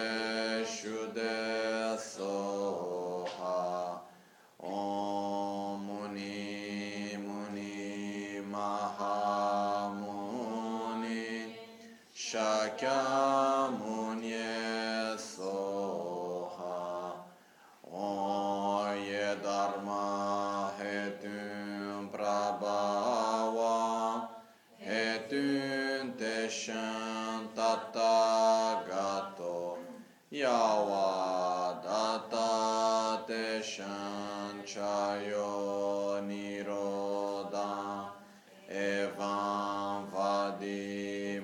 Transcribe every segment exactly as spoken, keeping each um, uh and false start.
shude soha. Om Muni Muni Mahamuni Shakyamuni soha. Oye Dharma hetun prabhava hetun teshan tattagato yavadata teshan chayo niroda evam vadi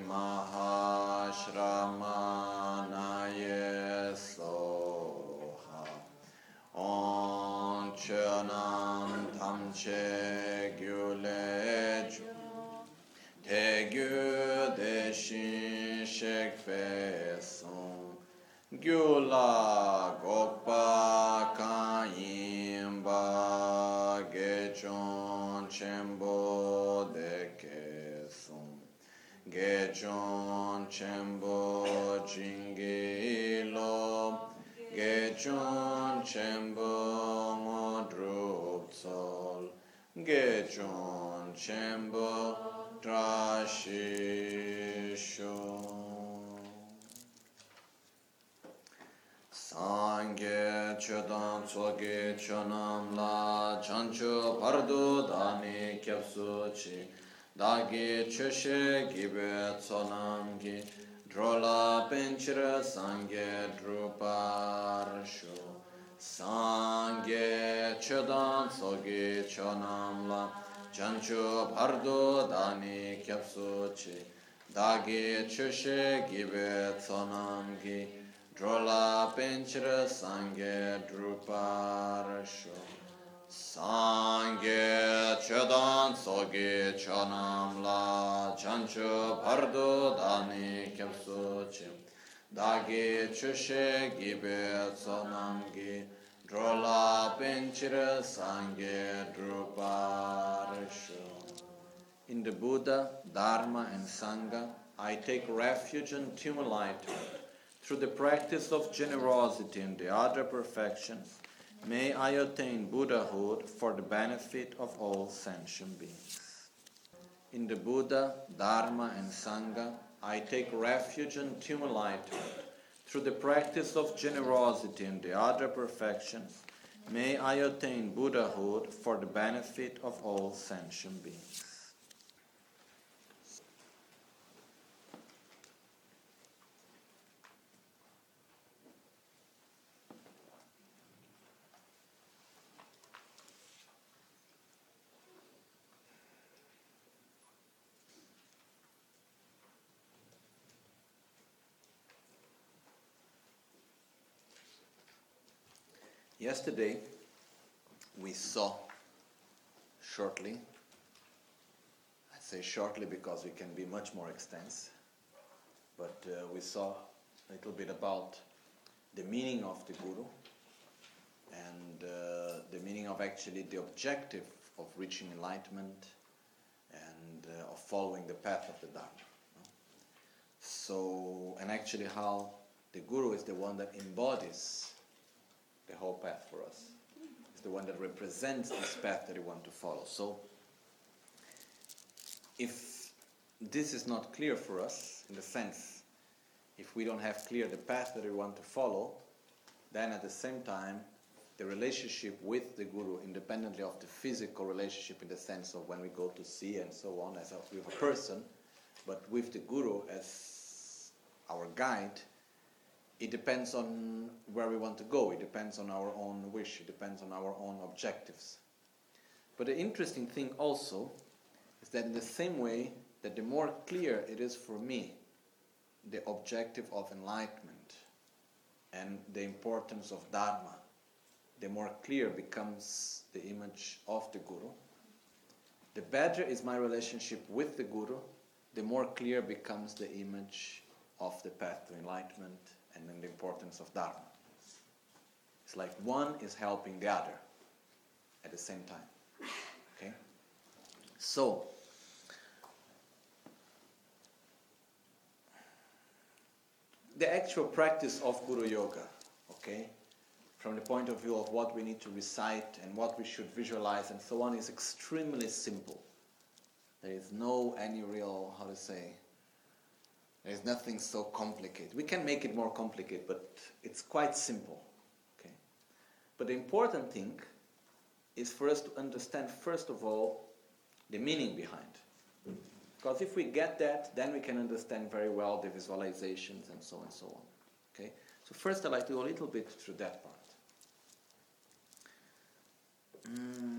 mahashramanaye soha. On chönam tamche gyuleju te gyu deshin shekpe son gyula gopa kanyimba gechon chembo deke son gechon chembo jingilo gechon chembo modrup sol gechon chembo trashisho sangye chodan tsoge chonam la chancho pardo dani kyapsu chi dagi choshe gibe tsonam gi drola penchira sangye druparsho sangye chodan tsoge chonam la chancho pardo dani kyapsu chi dagi choshe gibe tsonam gi drola penchira sangye druparsho sangye chodan tsoge chonam la chancho pardo dani kyapsu chi dagi choshe gibe tsonam gi drola penchira sangye druparsho. In the Buddha, Dharma and Sangha, I take refuge and enlightenment. Through the practice of generosity and the other perfections, may I attain Buddhahood for the benefit of all sentient beings. In the Buddha, Dharma and Sangha, I take refuge and enlightenment. Through the practice of generosity and the other perfections, may I attain Buddhahood for the benefit of all sentient beings. Yesterday, we saw shortly, I say shortly because we can be much more extensive, but uh, we saw a little bit about the meaning of the Guru and uh, the meaning of actually the objective of reaching enlightenment and uh, of following the path of the Dharma. So, and actually how the Guru is the one that embodies the whole path for us. It's the one that represents this path that we want to follow. So, if this is not clear for us, in the sense, if we don't have clear the path that we want to follow, then at the same time, the relationship with the Guru, independently of the physical relationship in the sense of when we go to see and so on, as a, with a person, but with the Guru as our guide, it depends on where we want to go. It depends on our own wish. It depends on our own objectives. But the interesting thing also is that in the same way that the more clear it is for me the objective of enlightenment and the importance of Dharma, the more clear becomes the image of the Guru. The better is my relationship with the Guru, the more clear becomes the image of the path to enlightenment and then the importance of Dharma. It's like one is helping the other at the same time. Okay? So, the actual practice of Guru Yoga, okay, from the point of view of what we need to recite and what we should visualize and so on, is extremely simple. There is no any real, how to say, there is nothing so complicated. We can make it more complicated, but it's quite simple. Okay? But the important thing is for us to understand, first of all, the meaning behind. Because if we get that, then we can understand very well the visualizations and so on and so on. Okay? So first I'd like to go a little bit through that part. Mm.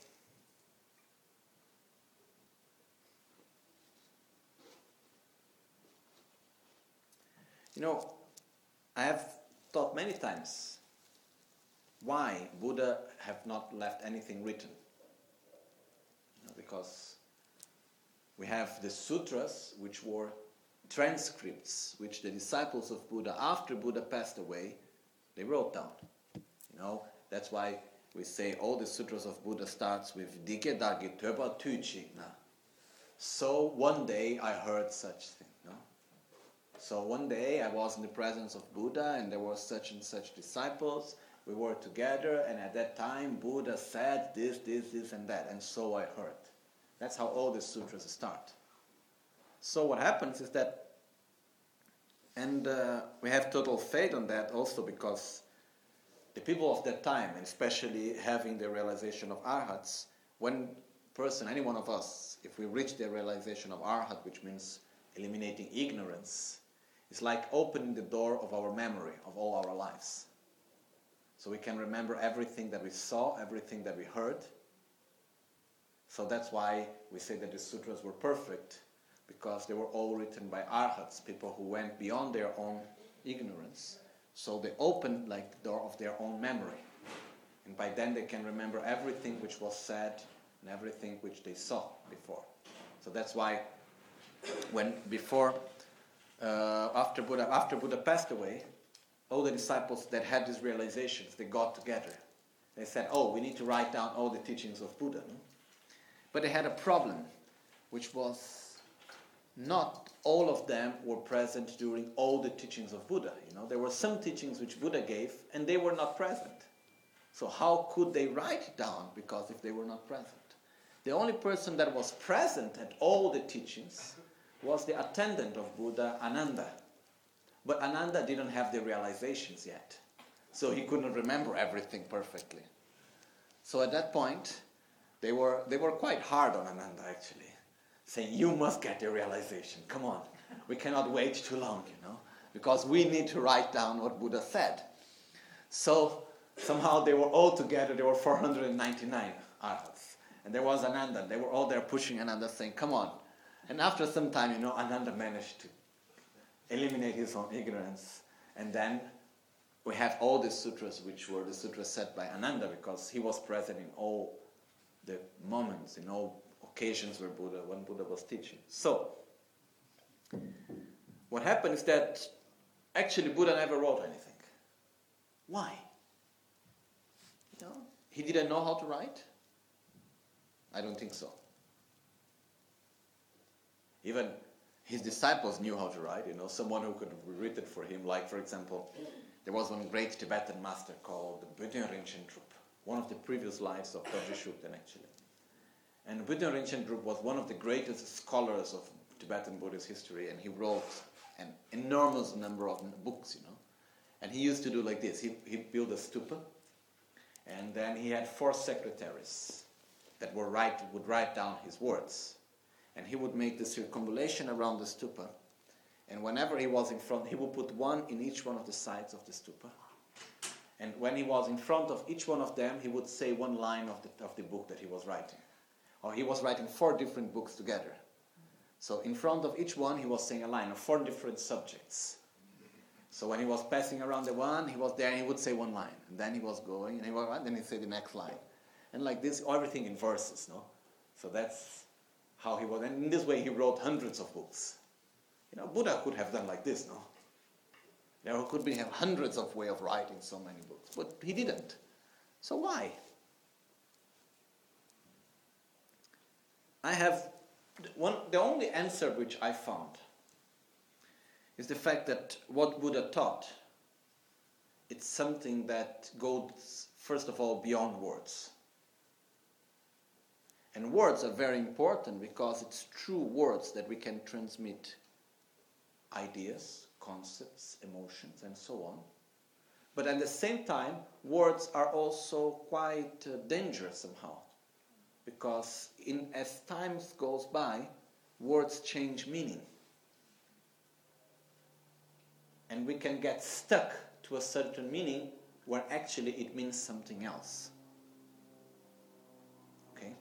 You know, I have thought many times why Buddha have not left anything written. You know, because we have the sutras, which were transcripts, which the disciples of Buddha, after Buddha passed away, they wrote down. You know, that's why we say all the sutras of Buddha starts with Dike Dagi Töba Tuchi. So one day I heard such thing. No? So one day I was in the presence of Buddha and there were such and such disciples. We were together and at that time Buddha said this, this, this and that. And so I heard. That's how all the sutras start. So what happens is that, and uh, we have total faith on that also because the people of that time, and especially having the realization of arhats, when person, any one of us, if we reach the realization of arhat, which means eliminating ignorance, it's like opening the door of our memory of all our lives. So we can remember everything that we saw, everything that we heard. So that's why we say that the sutras were perfect, because they were all written by arhats, people who went beyond their own ignorance. So they opened like the door of their own memory. And by then they can remember everything which was said and everything which they saw before. So that's why when before, uh, after Buddha, after Buddha passed away, all the disciples that had these realizations, they got together. They said, oh, we need to write down all the teachings of Buddha. No? But they had a problem, which was not all of them were present during all the teachings of Buddha. You know, there were some teachings which Buddha gave, and they were not present. So how could they write it down? Because if they were not present, the only person that was present at all the teachings was the attendant of Buddha, Ananda. But Ananda didn't have the realizations yet, so he couldn't remember everything perfectly. So at that point, they were they were quite hard on Ananda actually, saying, you must get the realization, come on, we cannot wait too long, you know, because we need to write down what Buddha said. So somehow they were all together, there were four hundred ninety-nine arhats, and there was Ananda, they were all there pushing Ananda, saying, come on. And after some time, you know, Ananda managed to eliminate his own ignorance, and then we have all the sutras, which were the sutras said by Ananda, because he was present in all the moments, in all occasions where Buddha, when Buddha was teaching. So, what happened is that actually Buddha never wrote anything. Why? You know, he didn't know how to write? I don't think so. Even his disciples knew how to write, you know, someone who could have written for him, like, for example, there was one great Tibetan master called Böden Rinchen Drup, one of the previous lives of Dorje Shugden, actually. And Böden Rinchen Drup was one of the greatest scholars of Tibetan Buddhist history, and he wrote an enormous number of books, you know. And he used to do like this. He, he built a stupa, and then he had four secretaries that were write, would write down his words. And he would make the circumambulation around the stupa. And whenever he was in front, he would put one in each one of the sides of the stupa. And when he was in front of each one of them, he would say one line of the, of the book that he was writing. Or he was writing four different books together. So in front of each one, he was saying a line of four different subjects. So when he was passing around the one, he was there and he would say one line. And then he was going, and he was, then he'd say the next line. And like this, everything in verses, no? So that's how he was. And in this way, he wrote hundreds of books. You know, Buddha could have done like this, no? There could be hundreds of ways of writing so many books. But he didn't. So why? I have one, the only answer which I found is the fact that what Buddha taught, it's something that goes, first of all, beyond words. And words are very important because it's through words that we can transmit ideas, concepts, emotions, and so on. But at the same time, words are also quite uh, dangerous somehow. Because in, as time goes by, words change meaning. And we can get stuck to a certain meaning when actually it means something else. Okay?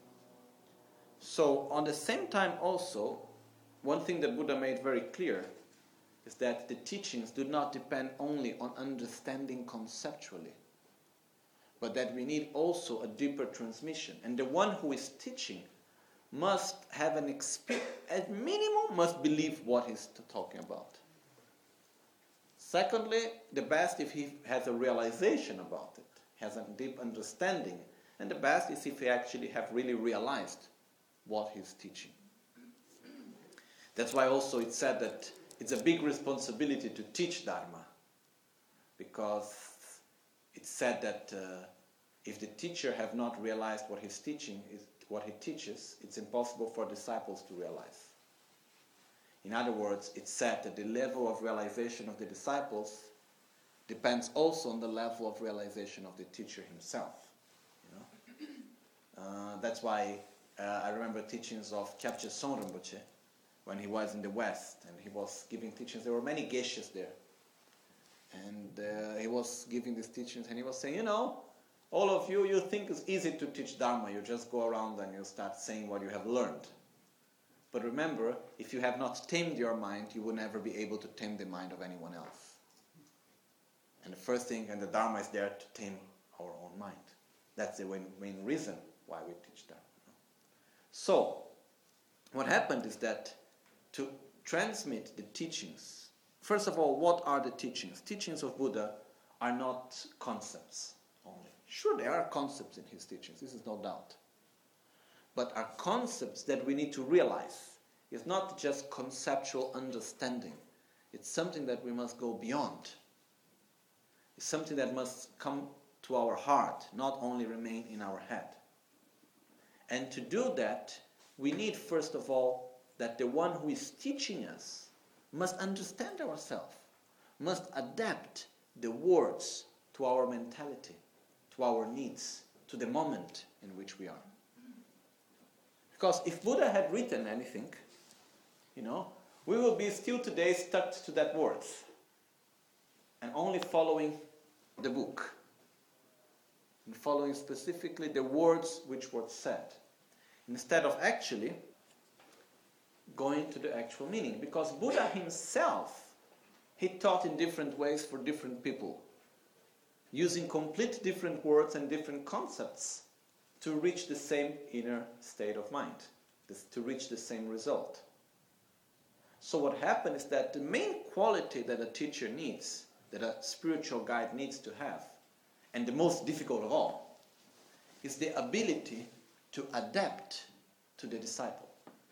So, on the same time also, one thing that Buddha made very clear is that the teachings do not depend only on understanding conceptually, but that we need also a deeper transmission. And the one who is teaching must have an experience, at minimum, must believe what he's talking about. Secondly, the best if he has a realization about it, has a deep understanding. And the best is if he actually have really realized what he's teaching. That's why also it's said that it's a big responsibility to teach Dharma. Because it's said that uh, if the teacher have not realized what he's teaching, is what he teaches, it's impossible for disciples to realize. In other words, it's said that the level of realization of the disciples depends also on the level of realization of the teacher himself. You know? Uh, that's why uh, I remember teachings of Kyabje Son Rinpoche when he was in the West, and he was giving teachings. There were many geishas there. And uh, he was giving these teachings, and he was saying, you know, all of you, you think it's easy to teach Dharma. You just go around and you start saying what you have learned. But remember, if you have not tamed your mind, you will never be able to tame the mind of anyone else. And the first thing, and the Dharma is there to tame our own mind. That's the main, main reason why we teach Dharma. So, what happened is that to transmit the teachings, first of all, what are the teachings? Teachings of Buddha are not concepts only. Sure, there are concepts in his teachings, this is no doubt. But are concepts that we need to realize. It's not just conceptual understanding. It's something that we must go beyond. It's something that must come to our heart, not only remain in our head. And to do that, we need, first of all, that the one who is teaching us must understand ourselves, must adapt the words to our mentality, to our needs, to the moment in which we are. Because if Buddha had written anything, you know, we will be still today stuck to that words and only following the book and following specifically the words which were said, instead of actually going to the actual meaning. Because Buddha himself, he taught in different ways for different people, using complete different words and different concepts to reach the same inner state of mind, this, to reach the same result. So what happened is that the main quality that a teacher needs, that a spiritual guide needs to have, and the most difficult of all, is the ability to adapt to the disciple.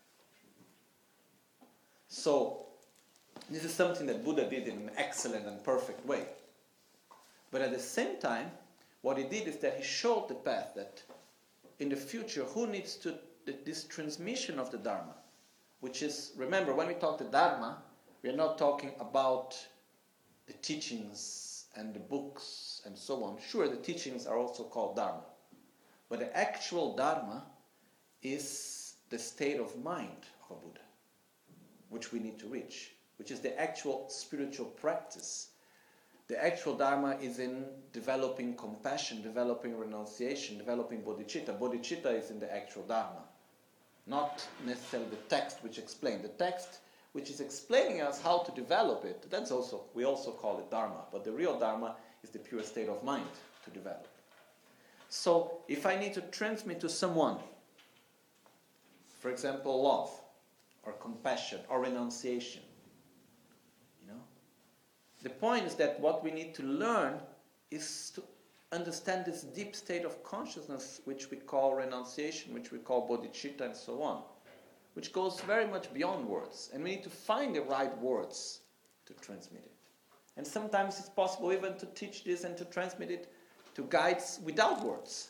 So this is something that Buddha did in an excellent and perfect way. But at the same time, what he did is that he showed the path that in the future, who needs to this transmission of the Dharma, which is, remember, when we talk the Dharma, we are not talking about the teachings and the books and so on. Sure, the teachings are also called Dharma, but the actual Dharma is the state of mind of a Buddha, which we need to reach, which is the actual spiritual practice. The actual Dharma is in developing compassion, developing renunciation, developing bodhicitta. Bodhicitta is in the actual Dharma, not necessarily the text which explains. The text which is explaining us how to develop it, that's also, we also call it Dharma, but the real Dharma is the pure state of mind to develop. So, if I need to transmit to someone, for example, love, or compassion, or renunciation, the point is that what we need to learn is to understand this deep state of consciousness which we call renunciation, which we call bodhicitta, and so on, which goes very much beyond words. And we need to find the right words to to transmit it. And sometimes it's possible even to teach this and to transmit it to guides without words.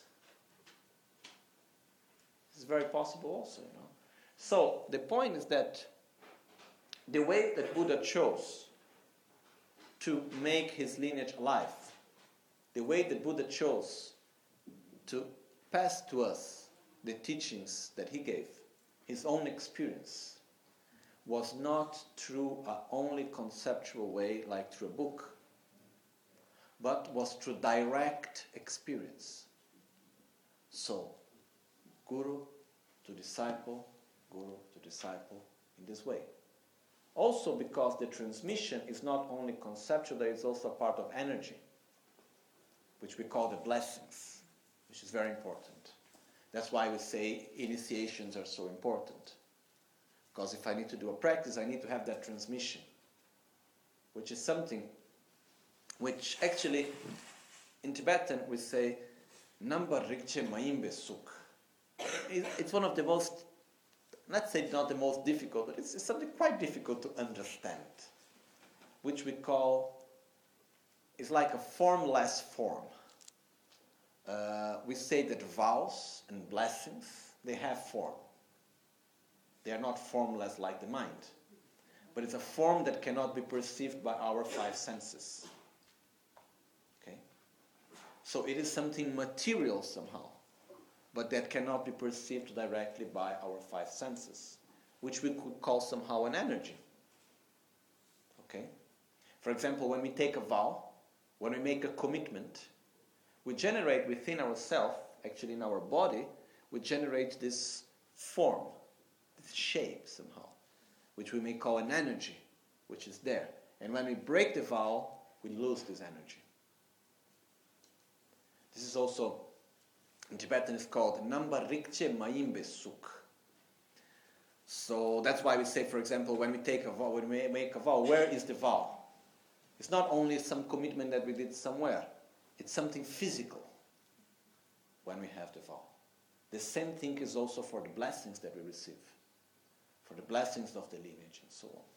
It's very possible also, you know. So the point is that the way that Buddha chose to make his lineage alive, the way that Buddha chose to pass to us the teachings that he gave, his own experience, was not through an only conceptual way like through a book, but was through direct experience. So, guru to disciple, guru to disciple, in this way. Also because the transmission is not only conceptual, there is also a part of energy, which we call the blessings, which is very important. That's why we say initiations are so important. Because if I need to do a practice, I need to have that transmission, which is something which actually, in Tibetan we say, Namba Rikche Maimbe Suk. It's one of the most, let's say not the most difficult, but it's something quite difficult to understand, which we call, it's like a formless form. Uh, we say that vows and blessings, they have form. They are not formless like the mind, but it's a form that cannot be perceived by our five senses. Okay? So it is something material somehow, but that cannot be perceived directly by our five senses, which we could call somehow an energy. Okay? For example, when we take a vow, when we make a commitment, we generate within ourselves, actually in our body, we generate this form, this shape somehow, which we may call an energy, which is there. And when we break the vow, we lose this energy. This is also, in Tibetan, it's called Namba Rikche Maimbe Suk. So that's why we say, for example, when we take a vow, when we make a vow, where is the vow? It's not only some commitment that we did somewhere. It's something physical when we have the vow. The same thing is also for the blessings that we receive, for the blessings of the lineage and so on.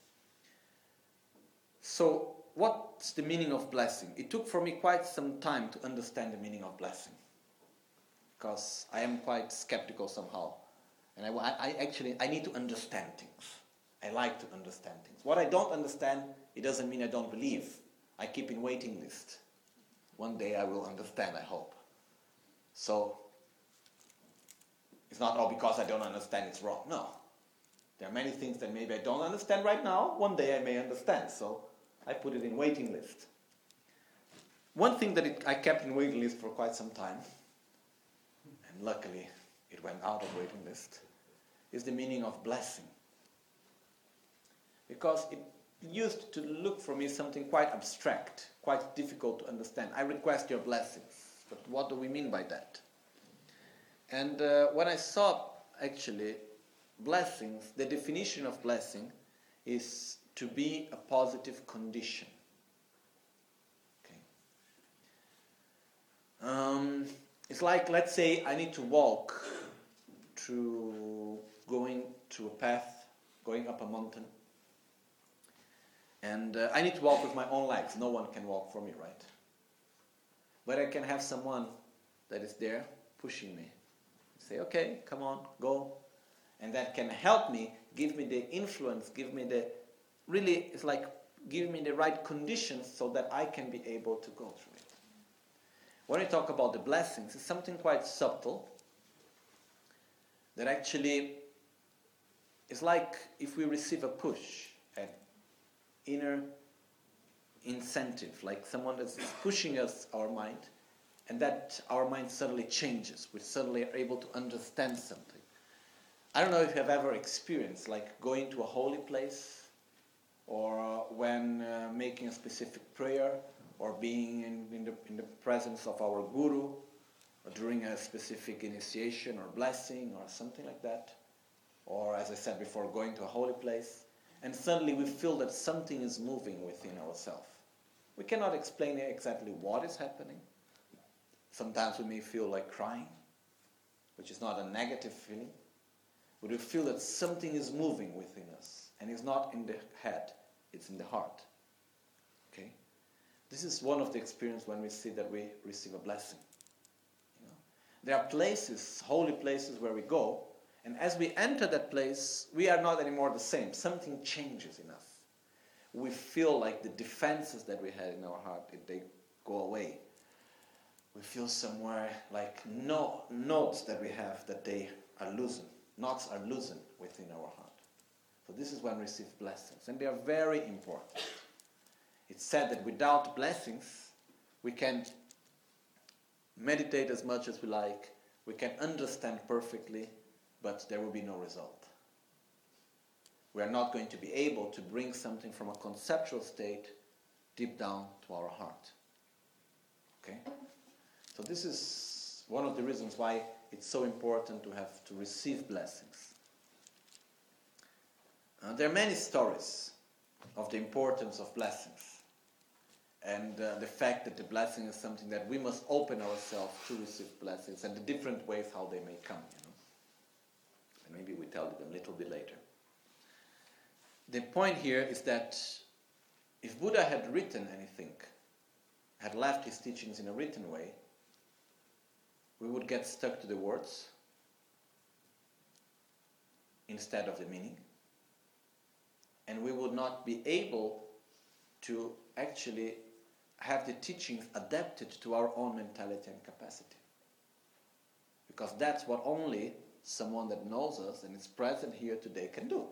So, what's the meaning of blessing? It took for me quite some time to understand the meaning of blessing, because I am quite skeptical somehow. And I, I actually, I need to understand things. I like to understand things. What I don't understand, it doesn't mean I don't believe. I keep in waiting list. One day I will understand, I hope. So, it's not all because I don't understand it's wrong. No. There are many things that maybe I don't understand right now. One day I may understand. So, I put it in waiting list. One thing that it, I kept in waiting list for quite some time, and luckily it went out of waiting list, is the meaning of blessing. Because it used to look for me something quite abstract, quite difficult to understand. I request your blessings, but what do we mean by that? And uh, when I saw actually blessings, the definition of blessing is to be a positive condition. Okay. Um, it's like, let's say I need to walk through, going through a path, going up a mountain. And uh, I need to walk with my own legs. No one can walk for me, right? But I can have someone that is there pushing me. Say, okay, come on, go. And that can help me, give me the influence, give me the, really, it's like, give me the right conditions so that I can be able to go through it. When we talk about the blessings, it's something quite subtle that actually is like if we receive a push, an inner incentive, like someone that's pushing us, our mind, and that our mind suddenly changes. We suddenly are able to understand something. I don't know if you have ever experienced, like going to a holy place, or uh, when uh, making a specific prayer, or being in, in, the, in the presence of our guru, or during a specific initiation or blessing, or something like that. Or, as I said before, going to a holy place, and suddenly we feel that something is moving within ourselves. We cannot explain exactly what is happening. Sometimes we may feel like crying, which is not a negative feeling. But we feel that something is moving within us, and it's not in the head, it's in the heart. This is one of the experiences when we see that we receive a blessing. You know? There are places, holy places where we go, and as we enter that place, we are not anymore the same. Something changes in us. We feel like the defenses that we had in our heart, if they go away. We feel somewhere like no notes that we have that they are loosened. Knots are loosened within our heart. So this is when we receive blessings, and they are very important. It's said that without blessings, we can meditate as much as we like, we can understand perfectly, but there will be no result. We are not going to be able to bring something from a conceptual state deep down to our heart. Okay? So this is one of the reasons why it's so important to have to receive blessings. Uh, there are many stories of the importance of blessings and uh, the fact that the blessing is something that we must open ourselves to receive blessings and the different ways how they may come, you know. And maybe we tell it a little bit later. The point here is that if Buddha had written anything, had left his teachings in a written way, we would get stuck to the words instead of the meaning, and we would not be able to actually have the teachings adapted to our own mentality and capacity. Because that's what only someone that knows us and is present here today can do.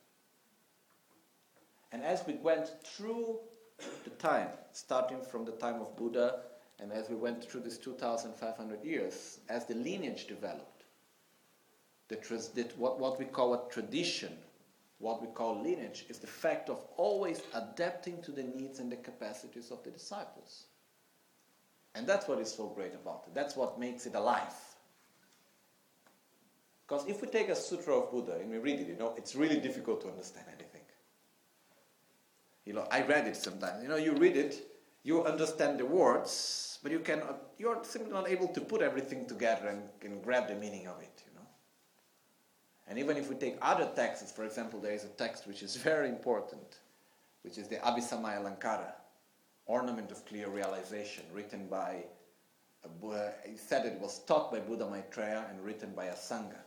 And as we went through the time, starting from the time of Buddha, and as we went through these two thousand five hundred years, as the lineage developed, the, the, what, what we call a tradition, what we call lineage, is the fact of always adapting to the needs and the capacities of the disciples. And that's what is so great about it. That's what makes it alive. Because if we take a sutra of Buddha and we read it, you know, it's really difficult to understand anything. You know, I read it sometimes. You know, you read it, you understand the words, but you cannot, you're simply not able to put everything together and, and grab the meaning of it, you know. And even if we take other texts, for example, there is a text which is very important, which is the Abhisamaya Alankara, Ornament of Clear Realization, written by, a Buddha. He said it was taught by Buddha Maitreya and written by a Sangha.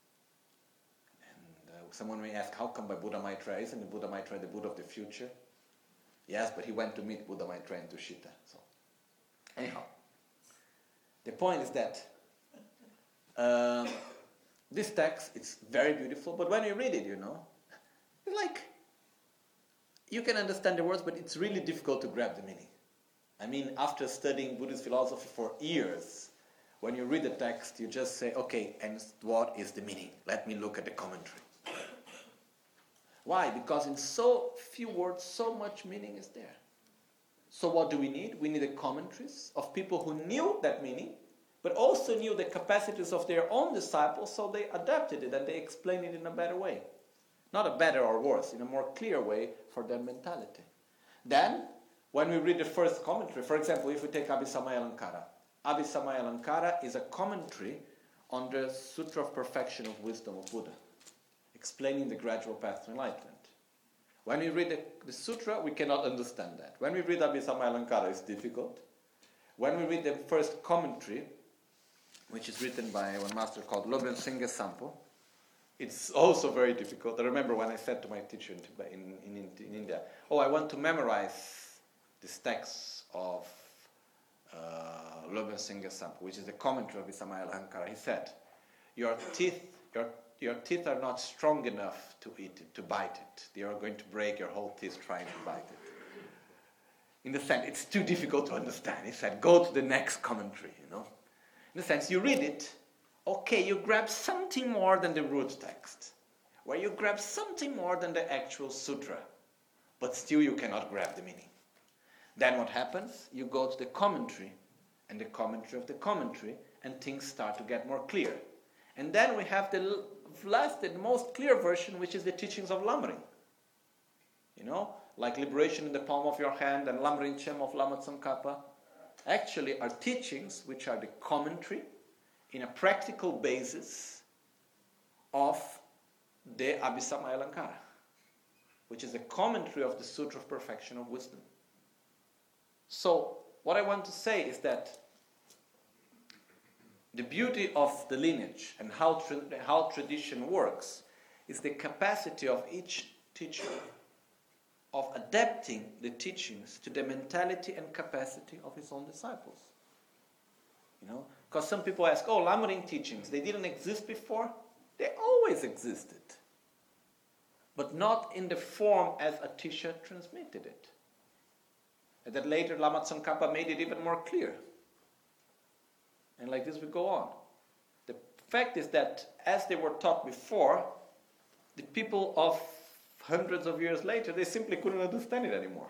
And uh, someone may ask, how come by Buddha Maitreya? Isn't the Buddha Maitreya the Buddha of the future? Yes, but he went to meet Buddha Maitreya in Tushita. So, anyhow, the point is that um, this text, it's very beautiful, but when you read it, you know, it's like, you can understand the words, but it's really difficult to grab the meaning. I mean, after studying Buddhist philosophy for years, when you read the text, you just say, okay, and what is the meaning? Let me look at the commentary. Why? Because in so few words, so much meaning is there. So what do we need? We need the commentaries of people who knew that meaning, but also knew the capacities of their own disciples, so they adapted it and they explained it in a better way. Not a better or worse, in a more clear way for their mentality. Then, when we read the first commentary, for example, if we take Abhisamaya Alankara, Abhisamaya Alankara is a commentary on the Sutra of Perfection of Wisdom of Buddha, explaining the gradual path to enlightenment. When we read the, the sutra, we cannot understand that. When we read Abhisamaya Alankara, it's difficult. When we read the first commentary, which is written by one master called Lobren Singha Sampo, it's also very difficult. I remember when I said to my teacher in, in, in, in India, oh, I want to memorize this text of uh, Lobren Singha Sampo, which is the commentary of Abhisamaya Alankara. He said, your teeth, your Your teeth are not strong enough to eat it, to bite it. They are going to break your whole teeth trying to bite it. In the sense, it's too difficult to understand. He said, go to the next commentary, you know. In the sense, you read it, okay, you grab something more than the root text, where you grab something more than the actual sutra, but still you cannot grab the meaning. Then what happens? You go to the commentary, and the commentary of the commentary, and things start to get more clear. And then we have the last and most clear version, which is the teachings of Lamrim. You know, like Liberation in the Palm of Your Hand and Lamrim Chem of Lama Tsongkhapa, actually are teachings which are the commentary in a practical basis of the Abhisamaya Alankara, which is a commentary of the Sutra of Perfection of Wisdom. So, what I want to say is that the beauty of the lineage and how, tra- how tradition works is the capacity of each teacher of adapting the teachings to the mentality and capacity of his own disciples. You know, because some people ask, oh, Lamrim teachings, they didn't exist before? They always existed. But not in the form as a teacher transmitted it. And that later Lama Tsongkhapa made it even more clear. And like this we go on. The fact is that as they were taught before, the people of hundreds of years later, they simply couldn't understand it anymore.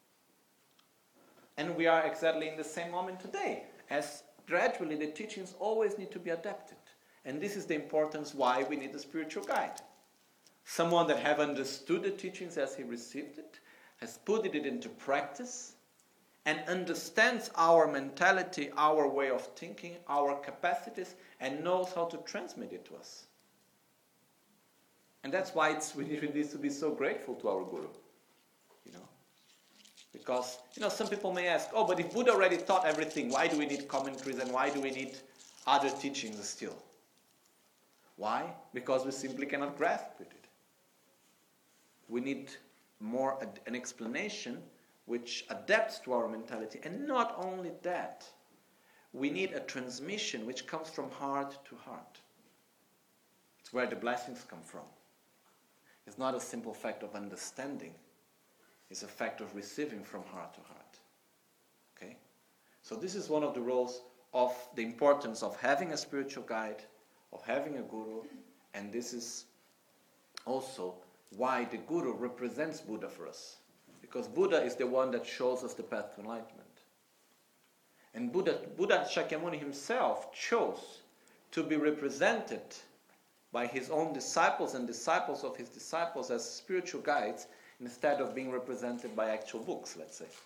And we are exactly in the same moment today, as gradually the teachings always need to be adapted. And this is the importance why we need a spiritual guide. Someone that have understood the teachings as he received it, has put it into practice, and understands our mentality, our way of thinking, our capacities, and knows how to transmit it to us. And that's why it's, we need to be so grateful to our Guru. You know? Because, you know, some people may ask, oh, but if Buddha already taught everything, why do we need commentaries and why do we need other teachings still? Why? Because we simply cannot grasp with it. We need more ad- an explanation which adapts to our mentality. And not only that, we need a transmission which comes from heart to heart. It's where the blessings come from. It's not a simple fact of understanding. It's a fact of receiving from heart to heart. Okay? So this is one of the roles of the importance of having a spiritual guide, of having a guru, and this is also why the guru represents Buddha for us. Because Buddha is the one that shows us the path to enlightenment. And Buddha, Buddha Shakyamuni himself chose to be represented by his own disciples and disciples of his disciples as spiritual guides instead of being represented by actual books, let's say.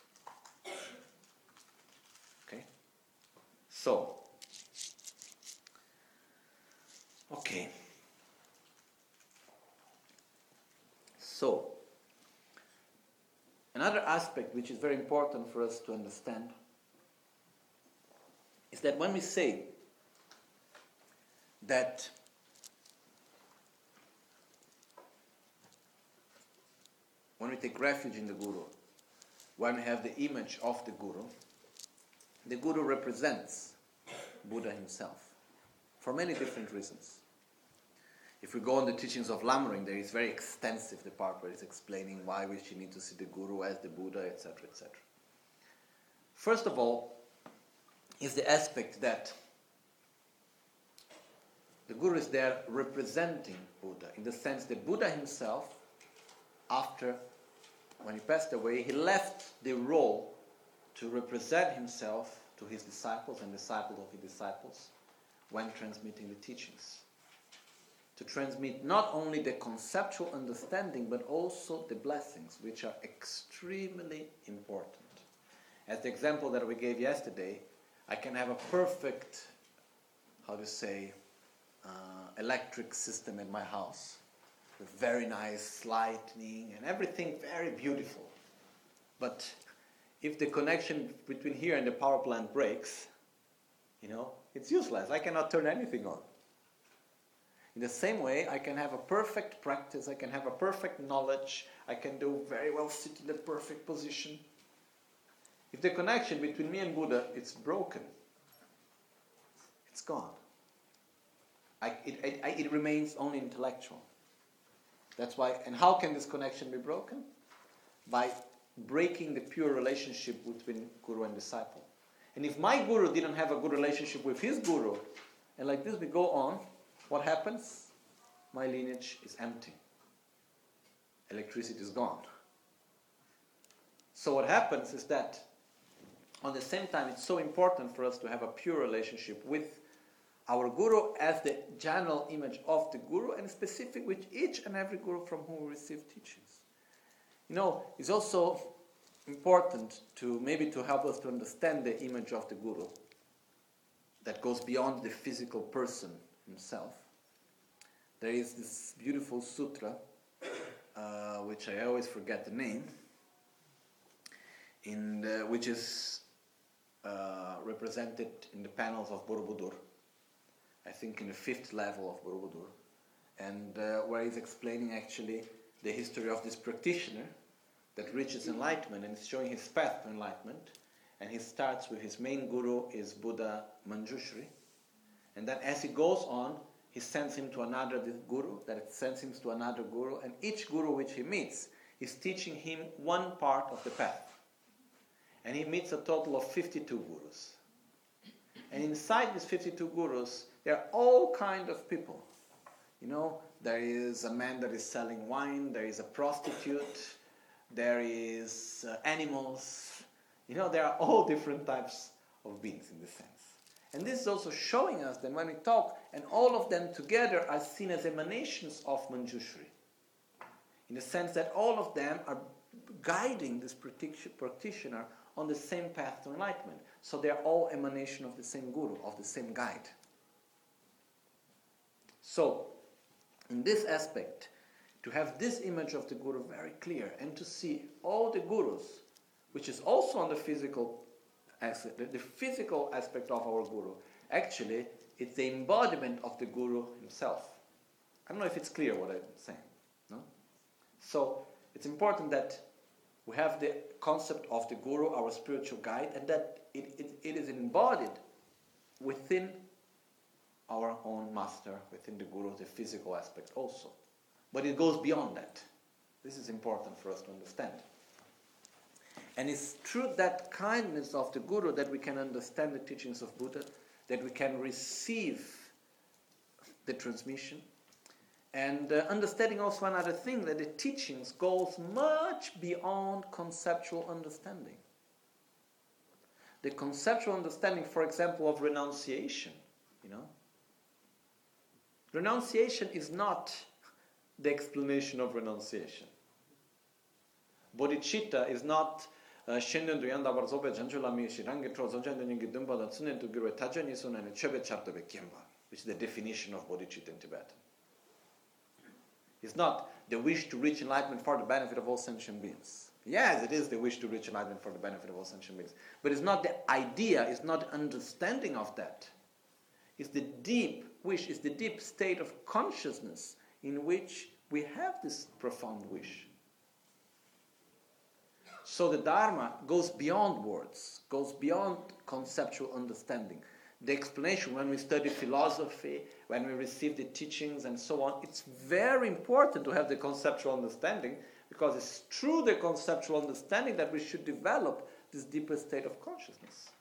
Okay? So, okay. So, another aspect which is very important for us to understand is that when we say that when we take refuge in the Guru, when we have the image of the Guru, the Guru represents Buddha himself for many different reasons. If we go on the teachings of Lamrim, there is very extensive the part where it's explaining why we should need to see the Guru as the Buddha, et cetera, et cetera. First of all, is the aspect that the Guru is there representing Buddha, in the sense that Buddha himself, after, when he passed away, he left the role to represent himself to his disciples and disciples of his disciples when transmitting the teachings. To transmit not only the conceptual understanding, but also the blessings, which are extremely important. As the example that we gave yesterday, I can have a perfect, how to say, uh, electric system in my house, with very nice lighting and everything very beautiful. But if the connection between here and the power plant breaks, you know, it's useless. I cannot turn anything on. In the same way, I can have a perfect practice, I can have a perfect knowledge, I can do very well sit in the perfect position. If the connection between me and Buddha is broken, it's gone. I, it, it, it remains only intellectual. That's why, and how can this connection be broken? By breaking the pure relationship between Guru and disciple. And if my Guru didn't have a good relationship with his Guru, and like this we go on, what happens? My lineage is empty. Electricity is gone. So what happens is that, on the same time, it's so important for us to have a pure relationship with our Guru as the general image of the Guru, and specific with each and every Guru from whom we receive teachings. You know, it's also important to maybe to help us to understand the image of the Guru that goes beyond the physical person himself. There is this beautiful sutra, uh, which I always forget the name. in the, which is uh, represented in the panels of Borobudur, I think in the fifth level of Borobudur, and uh, where he's explaining actually the history of this practitioner that reaches enlightenment and is showing his path to enlightenment. And he starts with his main guru is Buddha Manjushri, and then as he goes on, he sends him to another guru, that sends him to another guru, and each guru which he meets is teaching him one part of the path. And he meets a total of fifty-two gurus. And inside these fifty-two gurus, there are all kinds of people. You know, there is a man that is selling wine, there is a prostitute, there is uh, animals. You know, there are all different types of beings in this sense. And this is also showing us that when we talk, and all of them together are seen as emanations of Manjushri, in the sense that all of them are guiding this practitioner on the same path to enlightenment. So they are all emanation of the same guru, of the same guide. So, in this aspect, to have this image of the guru very clear, and to see all the gurus, which is also on the physical aspect, the physical aspect of our guru. Actually, it's the embodiment of the guru himself. I don't know if it's clear what I'm saying. No? So, it's important that we have the concept of the guru, our spiritual guide, and that it, it, it is embodied within our own master, within the guru, the physical aspect also. But it goes beyond that. This is important for us to understand. And it's through that kindness of the Guru that we can understand the teachings of Buddha, that we can receive the transmission, and uh, understanding also another thing, that the teachings goes much beyond conceptual understanding. The conceptual understanding, for example, of renunciation, you know. Renunciation is not the explanation of renunciation. Bodhicitta is not Shendu Yanda Barzobe Janjula Mishi Rangetro Zonjan Gidumba and Sunen to Guru Tajanison and Chebe Chapter Bekimba, which is the definition of bodhicitta in Tibetan. It's not the wish to reach enlightenment for the benefit of all sentient beings. Yes, it is the wish to reach enlightenment for the benefit of all sentient beings. But it's not the idea, it's not the understanding of that. It's the deep wish, it's the deep state of consciousness in which we have this profound wish. So the Dharma goes beyond words, goes beyond conceptual understanding. The explanation, when we study philosophy, when we receive the teachings and so on, it's very important to have the conceptual understanding, because it's through the conceptual understanding that we should develop this deeper state of consciousness.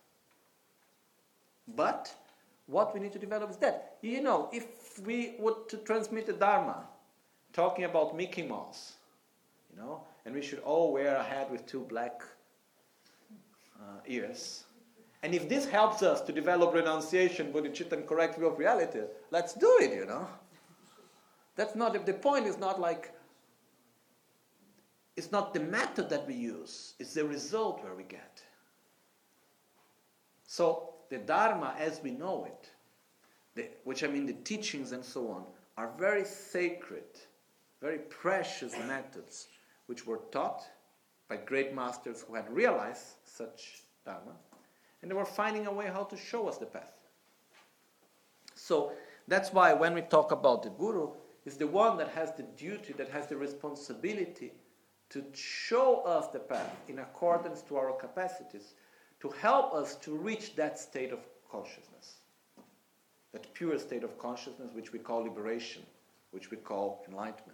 But what we need to develop is that. You know, if we would to transmit the Dharma, talking about Mickey Mouse, you know, and we should all wear a hat with two black uh, ears. And if this helps us to develop renunciation, bodhicitta, and correct view of reality, let's do it, you know. That's not, the point is not like, it's not the method that we use, it's the result where we get. So, the Dharma as we know it, the, which I mean the teachings and so on, are very sacred, very precious methods, which were taught by great masters who had realized such Dharma, and they were finding a way how to show us the path. So that's why when we talk about the Guru, it's the one that has the duty, that has the responsibility to show us the path in accordance to our capacities, to help us to reach that state of consciousness, that pure state of consciousness which we call liberation, which we call enlightenment.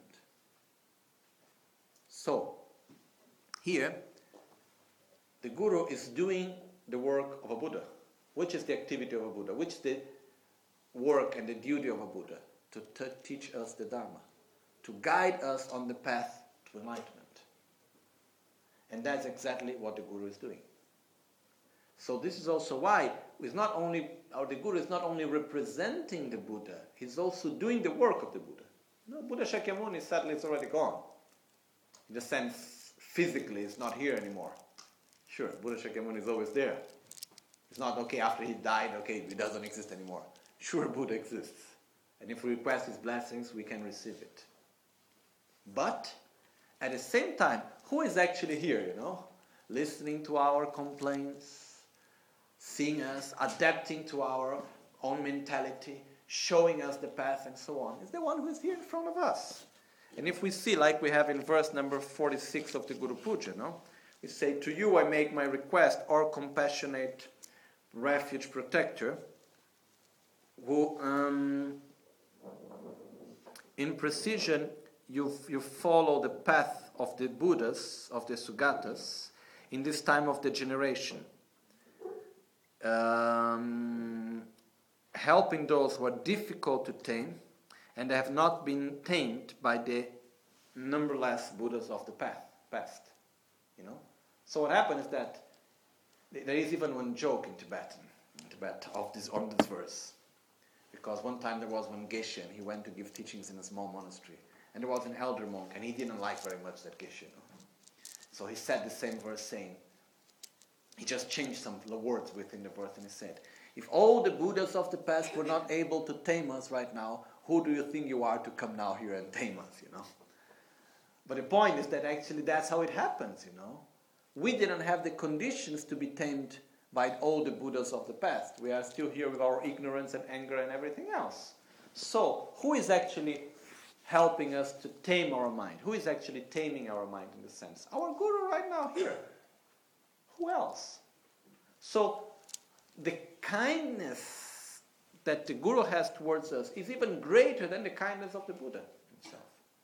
So, here, the Guru is doing the work of a Buddha. Which is the activity of a Buddha? Which is the work and the duty of a Buddha? To t- teach us the Dharma, to guide us on the path to enlightenment. And that's exactly what the Guru is doing. So this is also why it's not only, or the Guru is not only representing the Buddha, he's also doing the work of the Buddha. No, Buddha Shakyamuni, sadly, it's already gone. In the sense, physically, it's not here anymore. Sure, Buddha Shakyamuni is always there. It's not, okay, after he died, okay, he doesn't exist anymore. Sure, Buddha exists. And if we request his blessings, we can receive it. But, at the same time, who is actually here, you know? listening to our complaints, seeing us, adapting to our own mentality, showing us the path and so on, is the one who is here in front of us. And if we see, like we have in verse number forty-six of the Guru Puja, no? We say, to you I make my request, or compassionate refuge protector, who um, in precision you, you follow the path of the Buddhas, of the Sugatas, in this time of degeneration. Um, helping those who are difficult to tame and have not been tamed by the numberless Buddhas of the path, past. You know? So what happened is that there is even one joke in Tibetan, in Tibet of this, on this verse. Because one time there was one Geshe, and he went to give teachings in a small monastery. And there was an elder monk, and he didn't like very much that Geshe. You know? So he said the same verse saying, he just changed some words within the verse, and he said, if all the Buddhas of the past were not able to tame us right now, who do you think you are to come now here and tame us, you know? But the point is that actually that's how it happens, you know? We didn't have the conditions to be tamed by all the Buddhas of the past. We are still here with our ignorance and anger and everything else. So, who is actually helping us to tame our mind? Who is actually taming our mind in the sense? Our Guru right now here. Who else? So, the kindness that the Guru has towards us is even greater than the kindness of the Buddha himself.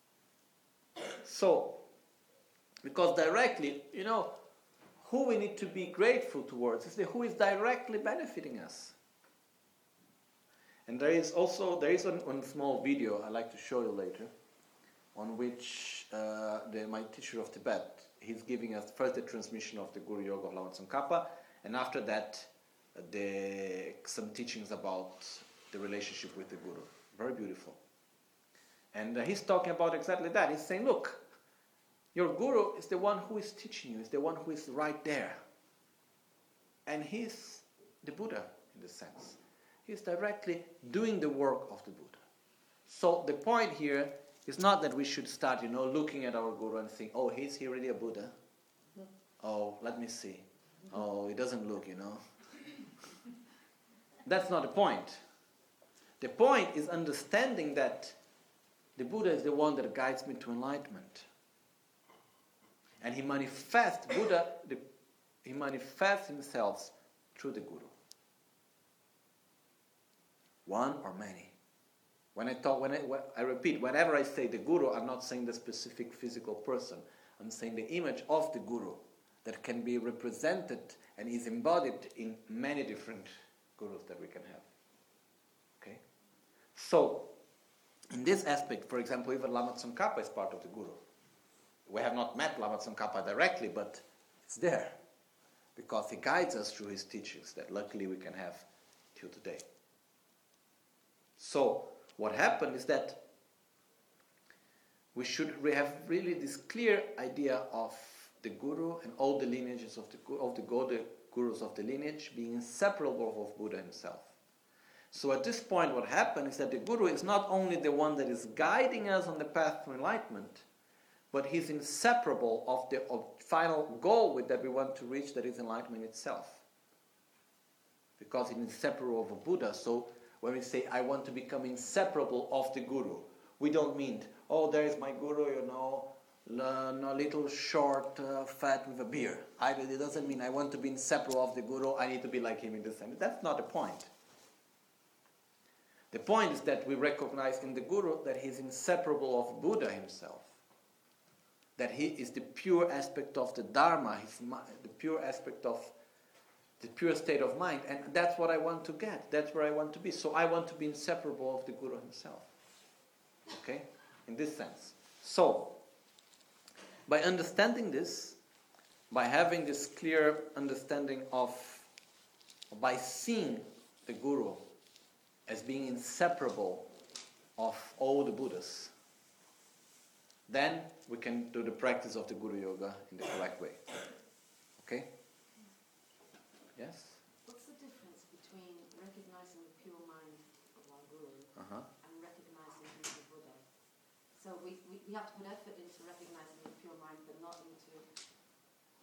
So, because directly, you know, who we need to be grateful towards is the who is directly benefiting us. And there is also, there is one, one small video I'd like to show you later, on which uh, the, my teacher of Tibet, he's giving us first the transmission of the Guru Yoga of Lama Tsongkhapa, and after that, uh, the, some teachings about the relationship with the Guru. Very beautiful. And uh, he's talking about exactly that. He's saying, look, your Guru is the one who is teaching you, is the one who is right there. And he's the Buddha, in this sense. He's directly doing the work of the Buddha. So the point here is not that we should start, you know, looking at our Guru and think, oh, is he really a Buddha? Oh, let me see. Oh, he doesn't look, you know. That's not the point. The point is understanding that the Buddha is the one that guides me to enlightenment. And he manifests, Buddha, the, he manifests himself through the Guru. One or many. When I talk, when I, when I repeat, whenever I say the Guru, I'm not saying the specific physical person. I'm saying the image of the Guru that can be represented and is embodied in many different Gurus that we can have. Okay? So, in this aspect, for example, even Lama Tsongkhapa is part of the Guru. We have not met Lama Tsongkhapa directly, but it's there. Because he guides us through his teachings that luckily we can have till today. So, what happened is that we should have really this clear idea of the Guru and all the lineages of the, of the, the Gurus of the lineage being inseparable of Buddha himself. So at this point what happened is that the Guru is not only the one that is guiding us on the path to enlightenment, but he's inseparable of the of final goal with that we want to reach, that is enlightenment itself. Because he's inseparable of a Buddha. So when we say, I want to become inseparable of the Guru, we don't mean, oh, there is my Guru, you know, a little short, uh, fat with a beard. I, it doesn't mean I want to be inseparable of the Guru, I need to be like him in this sense. That's not the point. The point is that we recognize in the Guru that he is inseparable of Buddha himself. That he is the pure aspect of the Dharma, his, the pure aspect of the pure state of mind. And that's what I want to get. That's where I want to be. So I want to be inseparable of the Guru himself. Okay? In this sense. So, by understanding this, by having this clear understanding of, by seeing the Guru as being inseparable of all the Buddhas, then we can do the practice of the Guru Yoga in the correct way. Okay? Yes? What's the difference between recognizing the pure mind of our Guru uh-huh. and recognizing him as a Buddha? So we, we, we have to put effort into recognizing the pure mind, but not into the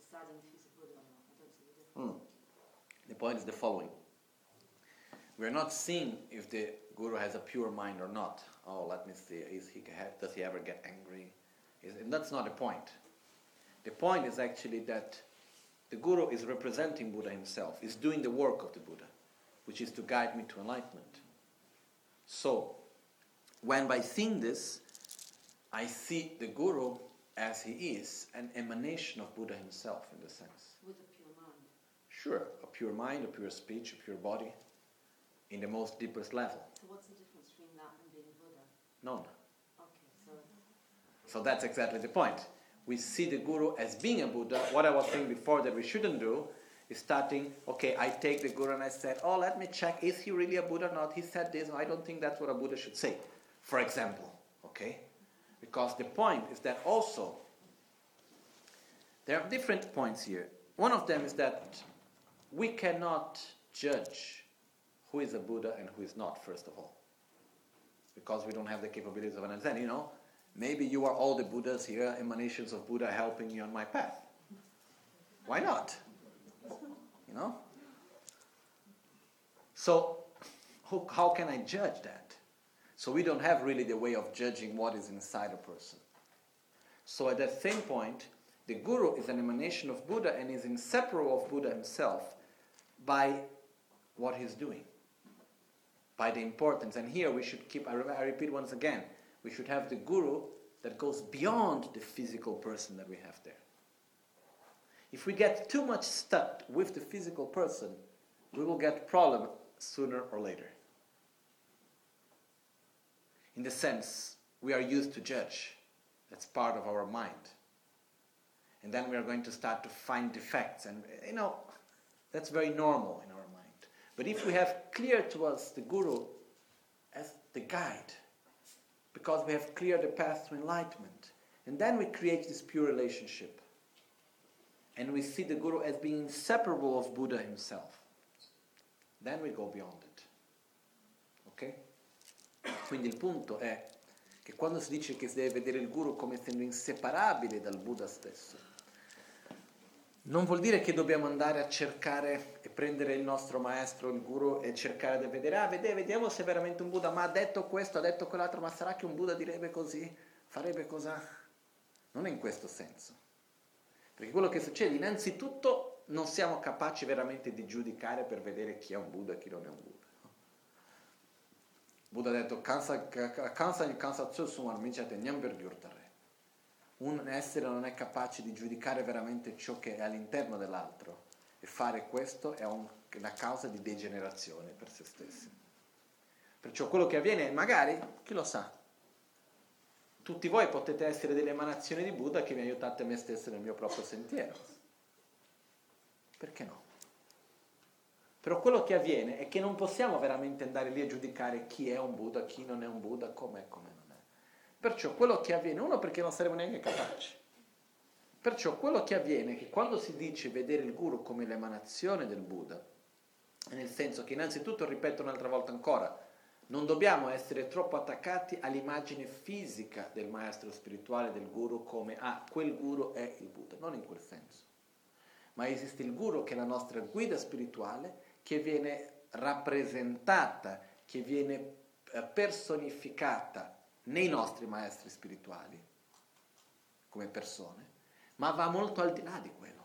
deciding if he's a Buddha or not. I don't see the difference. Mm. The point is the following. We're not seeing if the guru has a pure mind or not. Oh, let me see. Is he, does he ever get angry? Is, and that's not the point. The point is actually that the guru is representing Buddha himself, is doing the work of the Buddha, which is to guide me to enlightenment. So, when by seeing this, I see the guru as he is, an emanation of Buddha himself, in the sense. With a pure mind. Sure, a pure mind, a pure speech, a pure body, in the most deepest level. So what's the difference between that and being Buddha? None. Okay, so... So that's exactly the point. We see the guru as being a Buddha. What I was saying before that we shouldn't do is starting, okay, I take the guru and I said, oh, let me check, is he really a Buddha or not? He said this, I don't think that's what a Buddha should say, for example, okay? Because the point is that also, there are different points here. One of them is that we cannot judge who is a Buddha and who is not, first of all. Because we don't have the capabilities of understanding, you know? Maybe you are all the Buddhas here, emanations of Buddha helping me on my path. Why not? You know? So, who, how can I judge that? So we don't have really the way of judging what is inside a person. So at that same point, the guru is an emanation of Buddha and is inseparable of Buddha himself by what he's doing, by the importance. And here we should keep, I, re- I repeat once again, we should have the guru that goes beyond the physical person that we have there. If we get too much stuck with the physical person, we will get problem sooner or later. In the sense, we are used to judge. That's part of our mind. And then we are going to start to find defects. And, you know, that's very normal in our mind. But if we have clear to us the guru as the guide, because we have cleared the path to enlightenment, and then we create this pure relationship. And we see the guru as being inseparable of Buddha himself. Then we go beyond it. Ok? Quindi il punto è che quando si dice che si deve vedere il guru come essendo inseparabile dal Buddha stesso, non vuol dire che dobbiamo andare a cercare e prendere il nostro maestro, il guru, e cercare di vedere, ah, vede, vediamo se è veramente un Buddha, ma ha detto questo, ha detto quell'altro, ma sarà che un Buddha direbbe così, farebbe così? Non è in questo senso. Perché quello che succede, innanzitutto, non siamo capaci veramente di giudicare per vedere chi è un Buddha e chi non è un Buddha. Buddha ha detto, kansa il kansa tsutsum armicate nyamber gyurtare. Un essere non è capace di giudicare veramente ciò che è all'interno dell'altro, e fare questo è un, una causa di degenerazione per se stessi. Perciò quello che avviene, magari, chi lo sa, tutti voi potete essere delle emanazioni di Buddha che mi aiutate me stesso nel mio proprio sentiero. Perché no? Però quello che avviene è che non possiamo veramente andare lì a giudicare chi è un Buddha, chi non è un Buddha, come è, come non è. Perciò quello che avviene, uno perché non saremo neanche capaci. Perciò quello che avviene è che quando si dice vedere il guru come l'emanazione del Buddha, nel senso che innanzitutto, ripeto un'altra volta ancora, non dobbiamo essere troppo attaccati all'immagine fisica del maestro spirituale, del guru, come, ah, quel guru è il Buddha. Non in quel senso. Ma esiste il guru che è la nostra guida spirituale, che viene rappresentata, che viene personificata nei nostri maestri spirituali, come persone, ma va molto al di là di quello.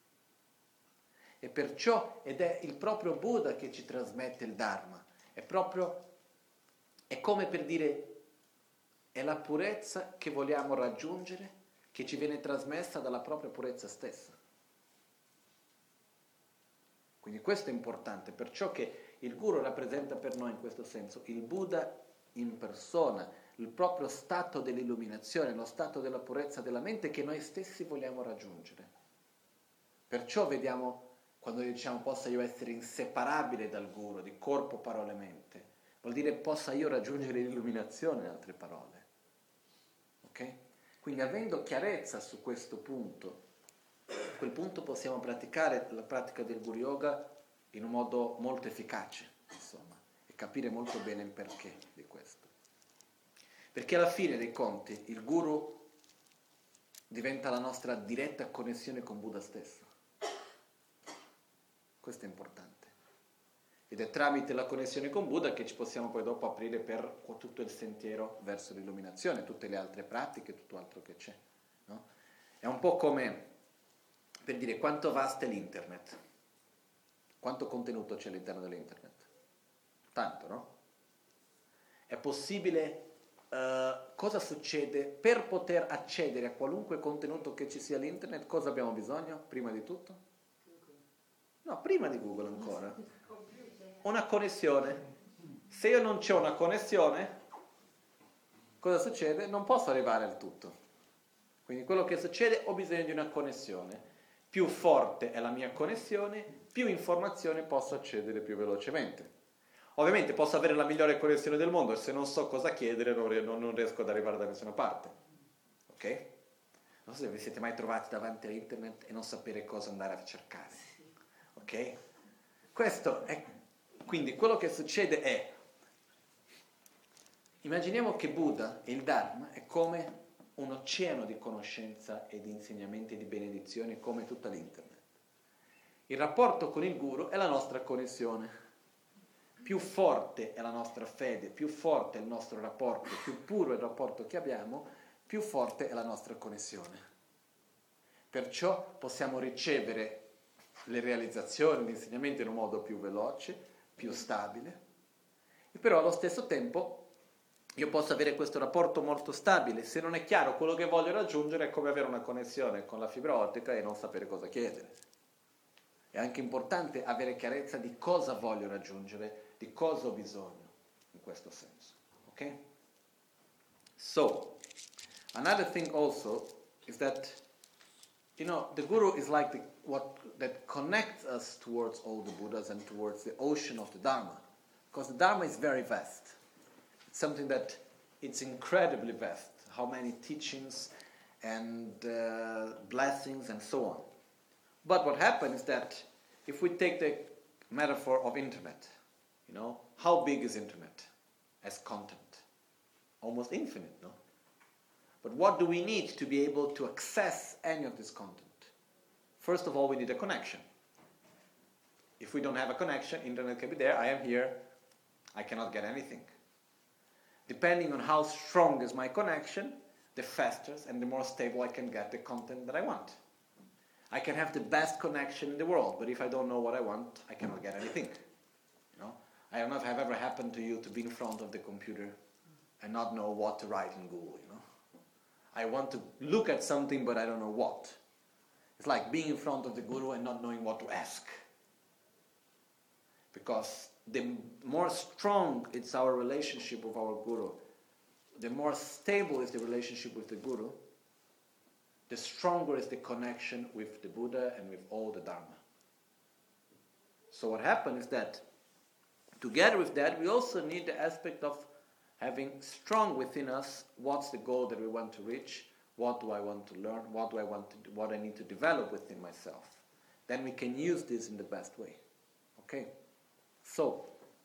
E perciò, ed è il proprio Buddha che ci trasmette il Dharma, è proprio, è come per dire, è la purezza che vogliamo raggiungere, che ci viene trasmessa dalla propria purezza stessa. Quindi questo è importante, perciò che il guru rappresenta per noi in questo senso il Buddha in persona, il proprio stato dell'illuminazione, lo stato della purezza della mente che noi stessi vogliamo raggiungere. Perciò vediamo, quando diciamo possa io essere inseparabile dal guru, di corpo, parole, mente, vuol dire possa io raggiungere l'illuminazione, in altre parole. Ok? Quindi avendo chiarezza su questo punto, a quel punto possiamo praticare la pratica del Guru Yoga in un modo molto efficace, insomma, e capire molto bene il perché di questo. Perché alla fine dei conti il Guru diventa la nostra diretta connessione con Buddha stesso. Questo è importante. Ed è tramite la connessione con Buddha che ci possiamo poi dopo aprire per tutto il sentiero verso l'illuminazione, tutte le altre pratiche, tutto altro che c'è. No? È un po' come, per dire, quanto vasta è l'internet. Quanto contenuto c'è all'interno dell'internet? Tanto, no? È possibile... Uh, cosa succede? Per poter accedere a qualunque contenuto che ci sia all'internet, cosa abbiamo bisogno? Prima di tutto? No, prima di Google ancora. Una connessione. Se io non c'ho una connessione, cosa succede? Non posso arrivare al tutto. Quindi quello che succede, ho bisogno di una connessione. Più forte è la mia connessione, più informazione posso accedere più velocemente. Ovviamente posso avere la migliore connessione del mondo e se non so cosa chiedere non, non riesco ad arrivare da nessuna parte. Ok? Non so se vi siete mai trovati davanti a internet e non sapere cosa andare a cercare. Ok? Questo è... Quindi quello che succede è... Immaginiamo che Buddha e il Dharma è come un oceano di conoscenza e di insegnamenti e di benedizioni come tutta l'internet. Il rapporto con il Guru è la nostra connessione. Più forte è la nostra fede, più forte è il nostro rapporto, più puro è il rapporto che abbiamo, più forte è la nostra connessione. Perciò possiamo ricevere le realizzazioni, gli insegnamenti in un modo più veloce, più stabile, e però allo stesso tempo io posso avere questo rapporto molto stabile. Se non è chiaro quello che voglio raggiungere è come avere una connessione con la fibra ottica e non sapere cosa chiedere. È anche importante avere chiarezza di cosa voglio raggiungere, di cosa ho bisogno, in questo senso. Ok? So, another thing also is that, you know, the Guru is like the, what that connects us towards all the Buddhas and towards the ocean of the Dharma. Because the Dharma is very vast. It's something that it's incredibly vast. How many teachings and uh, blessings and so on. But what happens is that if we take the metaphor of internet, you know, how big is internet as content? Almost infinite, no? But what do we need to be able to access any of this content? First of all, we need a connection. If we don't have a connection, internet can be there, I am here, I cannot get anything. Depending on how strong is my connection, the faster and the more stable I can get the content that I want. I can have the best connection in the world, but if I don't know what I want, I cannot get anything. You know? I don't know if it have ever happened to you to be in front of the computer and not know what to write in Google, you know? I want to look at something, but I don't know what. It's like being in front of the Guru and not knowing what to ask. Because the more strong it's our relationship with our Guru, the more stable is the relationship with the Guru, the stronger is the connection with the Buddha and with all the Dharma. So what happens is that together with that, we also need the aspect of having strong within us what's the goal that we want to reach, what do I want to learn, what do I want to do, what I need to develop within myself. Then we can use this in the best way. Okay? So,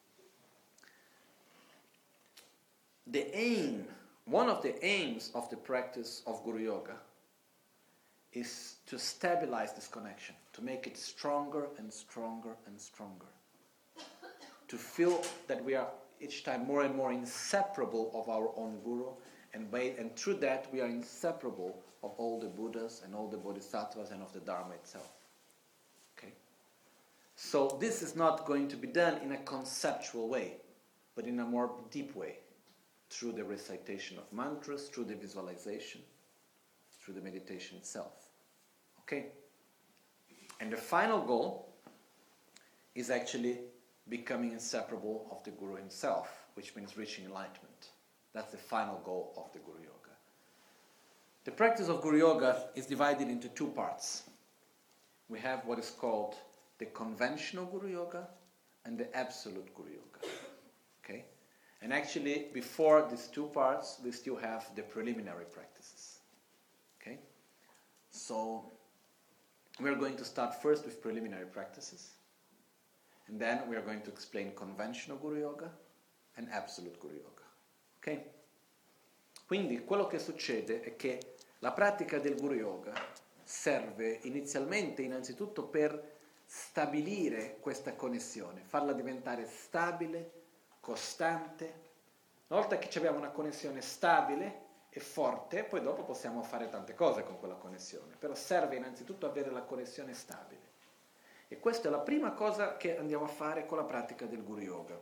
the aim, one of the aims of the practice of Guru Yoga is to stabilize this connection, to make it stronger and stronger and stronger. To feel that we are each time more and more inseparable of our own Guru, and, by, and through that we are inseparable of all the Buddhas and all the Bodhisattvas and of the Dharma itself. Okay? So this is not going to be done in a conceptual way, but in a more deep way, through the recitation of mantras, through the visualization, through the meditation itself. Okay? And the final goal is actually becoming inseparable of the Guru himself, which means reaching enlightenment. That's the final goal of the Guru Yoga. The practice of Guru Yoga is divided into two parts. We have what is called the conventional Guru Yoga and the absolute Guru Yoga. Okay? And actually, before these two parts, we still have the preliminary practices. Okay? So, we're going to start first with preliminary practices. And then we are going to explain conventional Guru Yoga and absolute Guru Yoga. Ok? Quindi quello che succede è che La pratica del Guru Yoga serve inizialmente, innanzitutto, per stabilire questa connessione, farla diventare stabile, costante. Una volta che abbiamo una connessione stabile e forte, poi dopo possiamo fare tante cose con quella connessione, però serve innanzitutto avere la connessione stabile. E questa è la prima cosa che andiamo a fare con la pratica del Guru Yoga.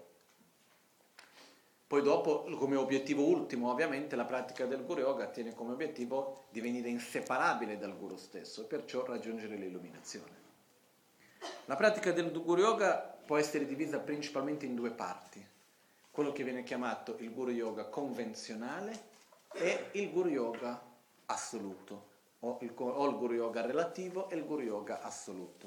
Poi dopo, come obiettivo ultimo, ovviamente, la pratica del Guru Yoga tiene come obiettivo di venire inseparabile dal Guru stesso e perciò raggiungere l'illuminazione. La pratica del Guru Yoga può essere divisa principalmente in due parti. Quello che viene chiamato il Guru Yoga convenzionale e il Guru Yoga assoluto, o il, o il Guru Yoga relativo e il Guru Yoga assoluto.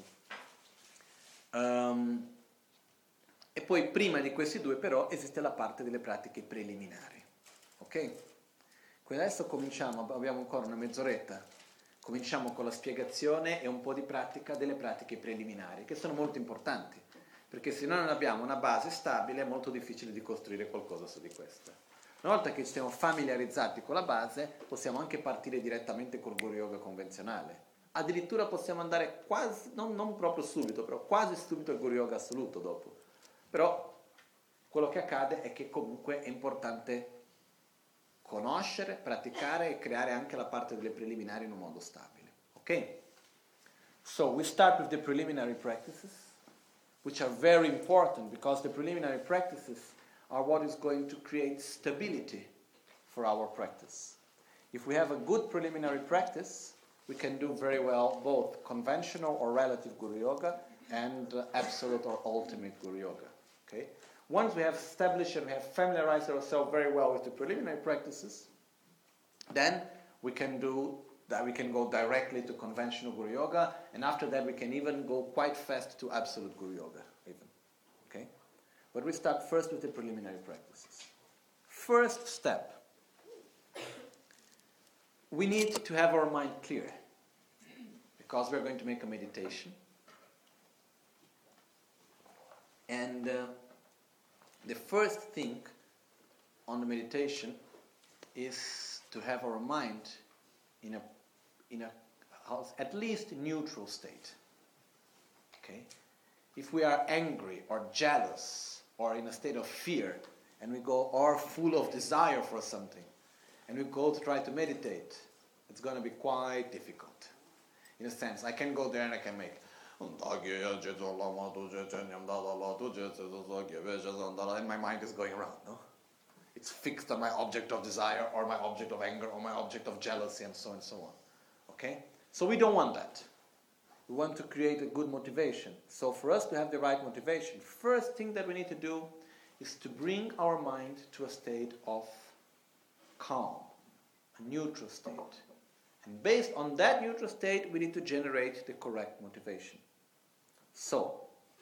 Um, e poi prima di questi due però esiste la parte delle pratiche preliminari. Ok? Quindi adesso cominciamo, abbiamo ancora una mezz'oretta, cominciamo con la spiegazione e un po' di pratica delle pratiche preliminari, che sono molto importanti, perché se noi non abbiamo una base stabile è molto difficile di costruire qualcosa su di questa. Una volta che ci siamo familiarizzati con la base, possiamo anche partire direttamente col Guru Yoga convenzionale. Addirittura possiamo andare quasi, non, non proprio subito, però quasi subito al Guru Yoga assoluto dopo. Però quello che accade è che comunque è importante conoscere, praticare e creare anche la parte delle preliminari in un modo stabile. Ok? So we start with the preliminary practices, which are very important because the preliminary practices are what is going to create stability for our practice. If we have a good preliminary practice, we can do very well both conventional or relative Guru Yoga and uh, absolute or ultimate Guru Yoga. Okay? Once we have established and we have familiarized ourselves very well with the preliminary practices, then we can do that. We can go directly to conventional Guru Yoga, and after that we can even go quite fast to absolute Guru Yoga, even. Okay? But we start first with the preliminary practices. First step. We need to have our mind clear, because we're going to make a meditation. And uh, the first thing on the meditation is to have our mind in a, in a at least neutral state. Okay? If we are angry or jealous or in a state of fear, and we go or full of desire for something, and we go to try to meditate, it's going to be quite difficult. In a sense, I can go there and I can make and my mind is going around, no? It's fixed on my object of desire or my object of anger or my object of jealousy and so on and so on. Okay? So we don't want that. We want to create a good motivation. So for us to have the right motivation, first thing that we need to do is to bring our mind to a state of calm, a neutral state. And based on that neutral state, we need to generate the correct motivation. So,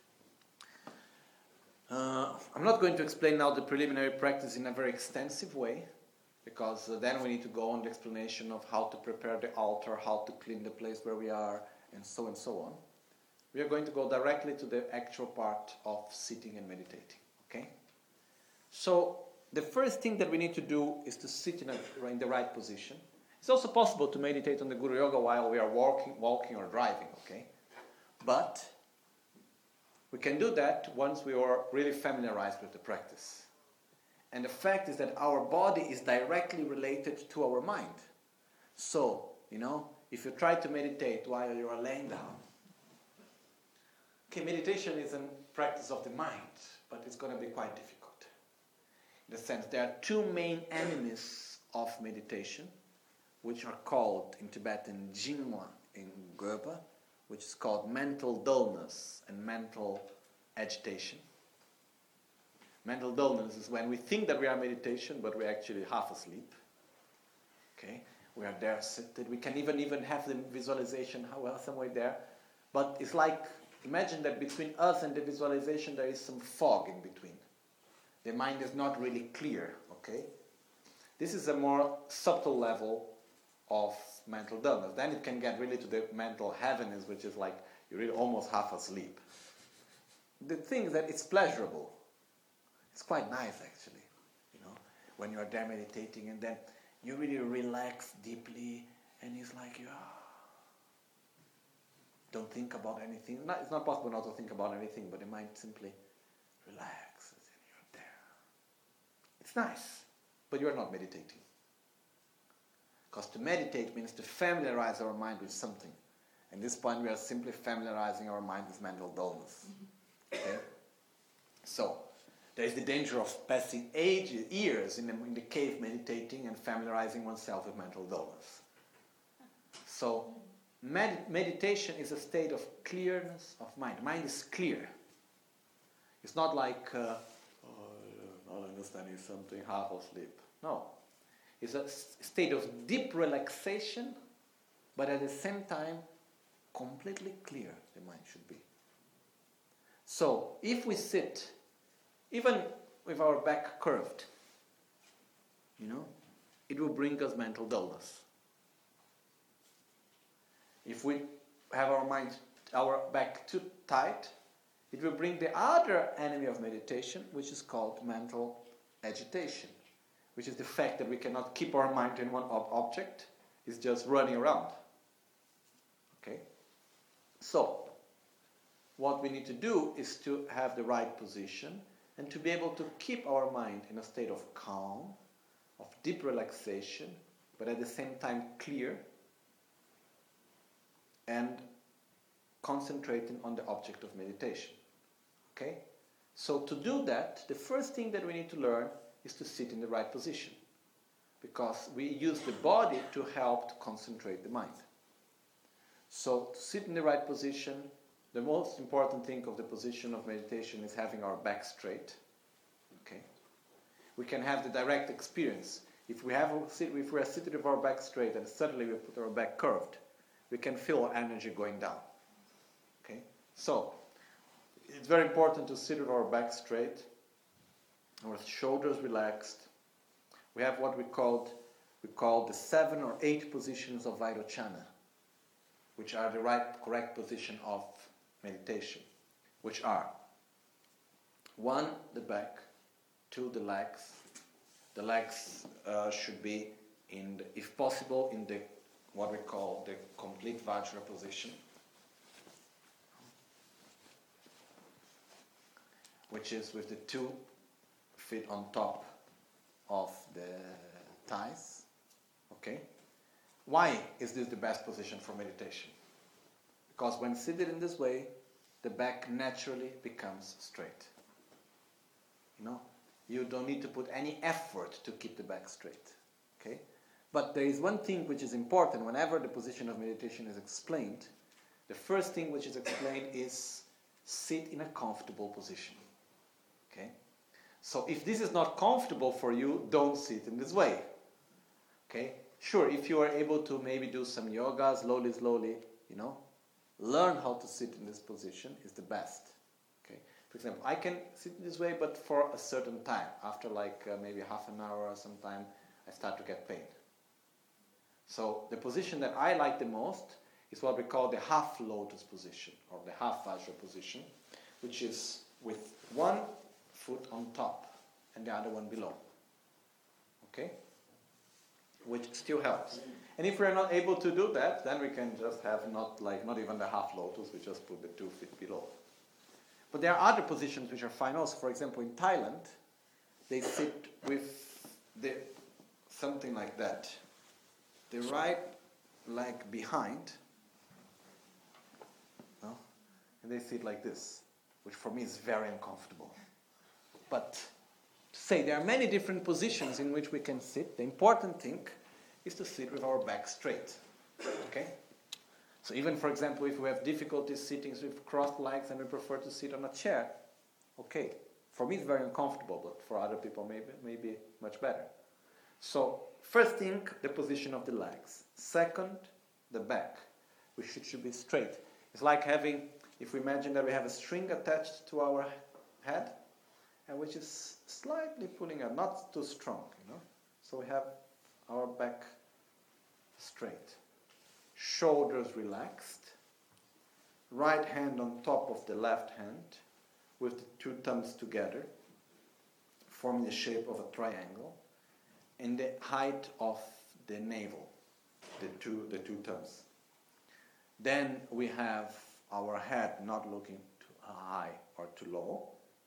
uh, I'm not going to explain now the preliminary practice in a very extensive way, because uh, then we need to go on the explanation of how to prepare the altar, how to clean the place where we are, and so and so on. We are going to go directly to the actual part of sitting and meditating. Okay? So, the first thing that we need to do is to sit in, a, in the right position. It's also possible to meditate on the Guru Yoga while we are walking, walking or driving, okay? But we can do that once we are really familiarized with the practice. And the fact is that our body is directly related to our mind. So, you know, if you try to meditate while you are laying down, okay, meditation is a practice of the mind, but it's going to be quite difficult. In the sense, there are two main enemies of meditation, which are called in Tibetan Jinwa in Gopa, which is called mental dullness and mental agitation. Mental dullness is when we think that we are meditation, but we're actually half asleep. Okay, we are there seated. We can even even have the visualization well somewhere there, but it's like, imagine that between us and the visualization there is some fog in between. The mind is not really clear. Okay, this is a more subtle level of mental dullness. Then it can get really to the mental heaviness, which is like you're really almost half asleep. The thing is that it's pleasurable. It's quite nice, actually, you know, when you are there meditating and then you really relax deeply And he's like, yeah, don't think about anything. Not, it's not possible not to think about anything, but the mind simply relaxes and you're there. It's nice, but you're not meditating. Because to meditate means to familiarize our mind with something. At this point, we are simply familiarizing our mind with mental dullness. Okay? So, there is the danger of passing ages, years in the, in the cave meditating and familiarizing oneself with mental dullness. So, med- meditation is a state of clearness of mind. Mind is clear. It's not like, uh, oh, not understanding something, half asleep. No. It's a s- state of deep relaxation, but at the same time, completely clear the mind should be. So, if we sit, even with our back curved, you know, it will bring us mental dullness. If we have our mind, our back too tight, it will bring the other enemy of meditation, which is called mental agitation, which is the fact that we cannot keep our mind in one ob- object, it's just running around. Okay? So, what we need to do is to have the right position and to be able to keep our mind in a state of calm, of deep relaxation, but at the same time clear and concentrating on the object of meditation. Okay? So to do that, the first thing that we need to learn is to sit in the right position, because we use the body to help to concentrate the mind. So to sit in the right position, the most important thing of the position of meditation is having our back straight. Okay? We can have the direct experience. If we have if we are sitting with our back straight and suddenly we put our back curved, we can feel our energy going down. Okay? So it's very important to sit with our back straight, our shoulders relaxed. We have what we called we call the seven or eight positions of Vairochana, which are the right correct position of meditation, which are one, the back, two, the legs. The legs uh, should be in, the, if possible, in the what we call the complete Vajra position, which is with the two feet on top of the thighs. Okay? Why is this the best position for meditation? Because when seated in this way, the back naturally becomes straight. You know, you don't need to put any effort to keep the back straight. Okay? But there is one thing which is important whenever the position of meditation is explained. The first thing which is explained is sit in a comfortable position. Okay? So if this is not comfortable for you, don't sit in this way. Okay? Sure, if you are able to maybe do some yoga, slowly, slowly, you know, learn how to sit in this position is the best. Okay? For example, I can sit in this way, but for a certain time. After like uh, maybe half an hour or some time, I start to get pain. So the position that I like the most is what we call the half lotus position, or the half Vajra position, which is with one foot on top and the other one below. Okay? Which still helps. And if we're not able to do that, then we can just have not like not even the half lotus, we just put the two feet below. But there are other positions which are fine also. For example, in Thailand, they sit with the something like that. The right leg behind, no? And they sit like this, which for me is very uncomfortable. But to say there are many different positions in which we can sit. The important thing is to sit with our back straight. Okay? So even, for example, if we have difficulties sitting with crossed legs and we prefer to sit on a chair, okay. For me it's very uncomfortable, but for other people maybe maybe much better. So first thing, the position of the legs. Second, the back, which should, should be straight. It's like having, if we imagine that we have a string attached to our head, and which is slightly pulling out, not too strong, you know. So we have our back straight. Shoulders relaxed. Right hand on top of the left hand, with the two thumbs together, forming the shape of a triangle, and the height of the navel. the two, the two tongues. Then we have our head not looking too high or too low.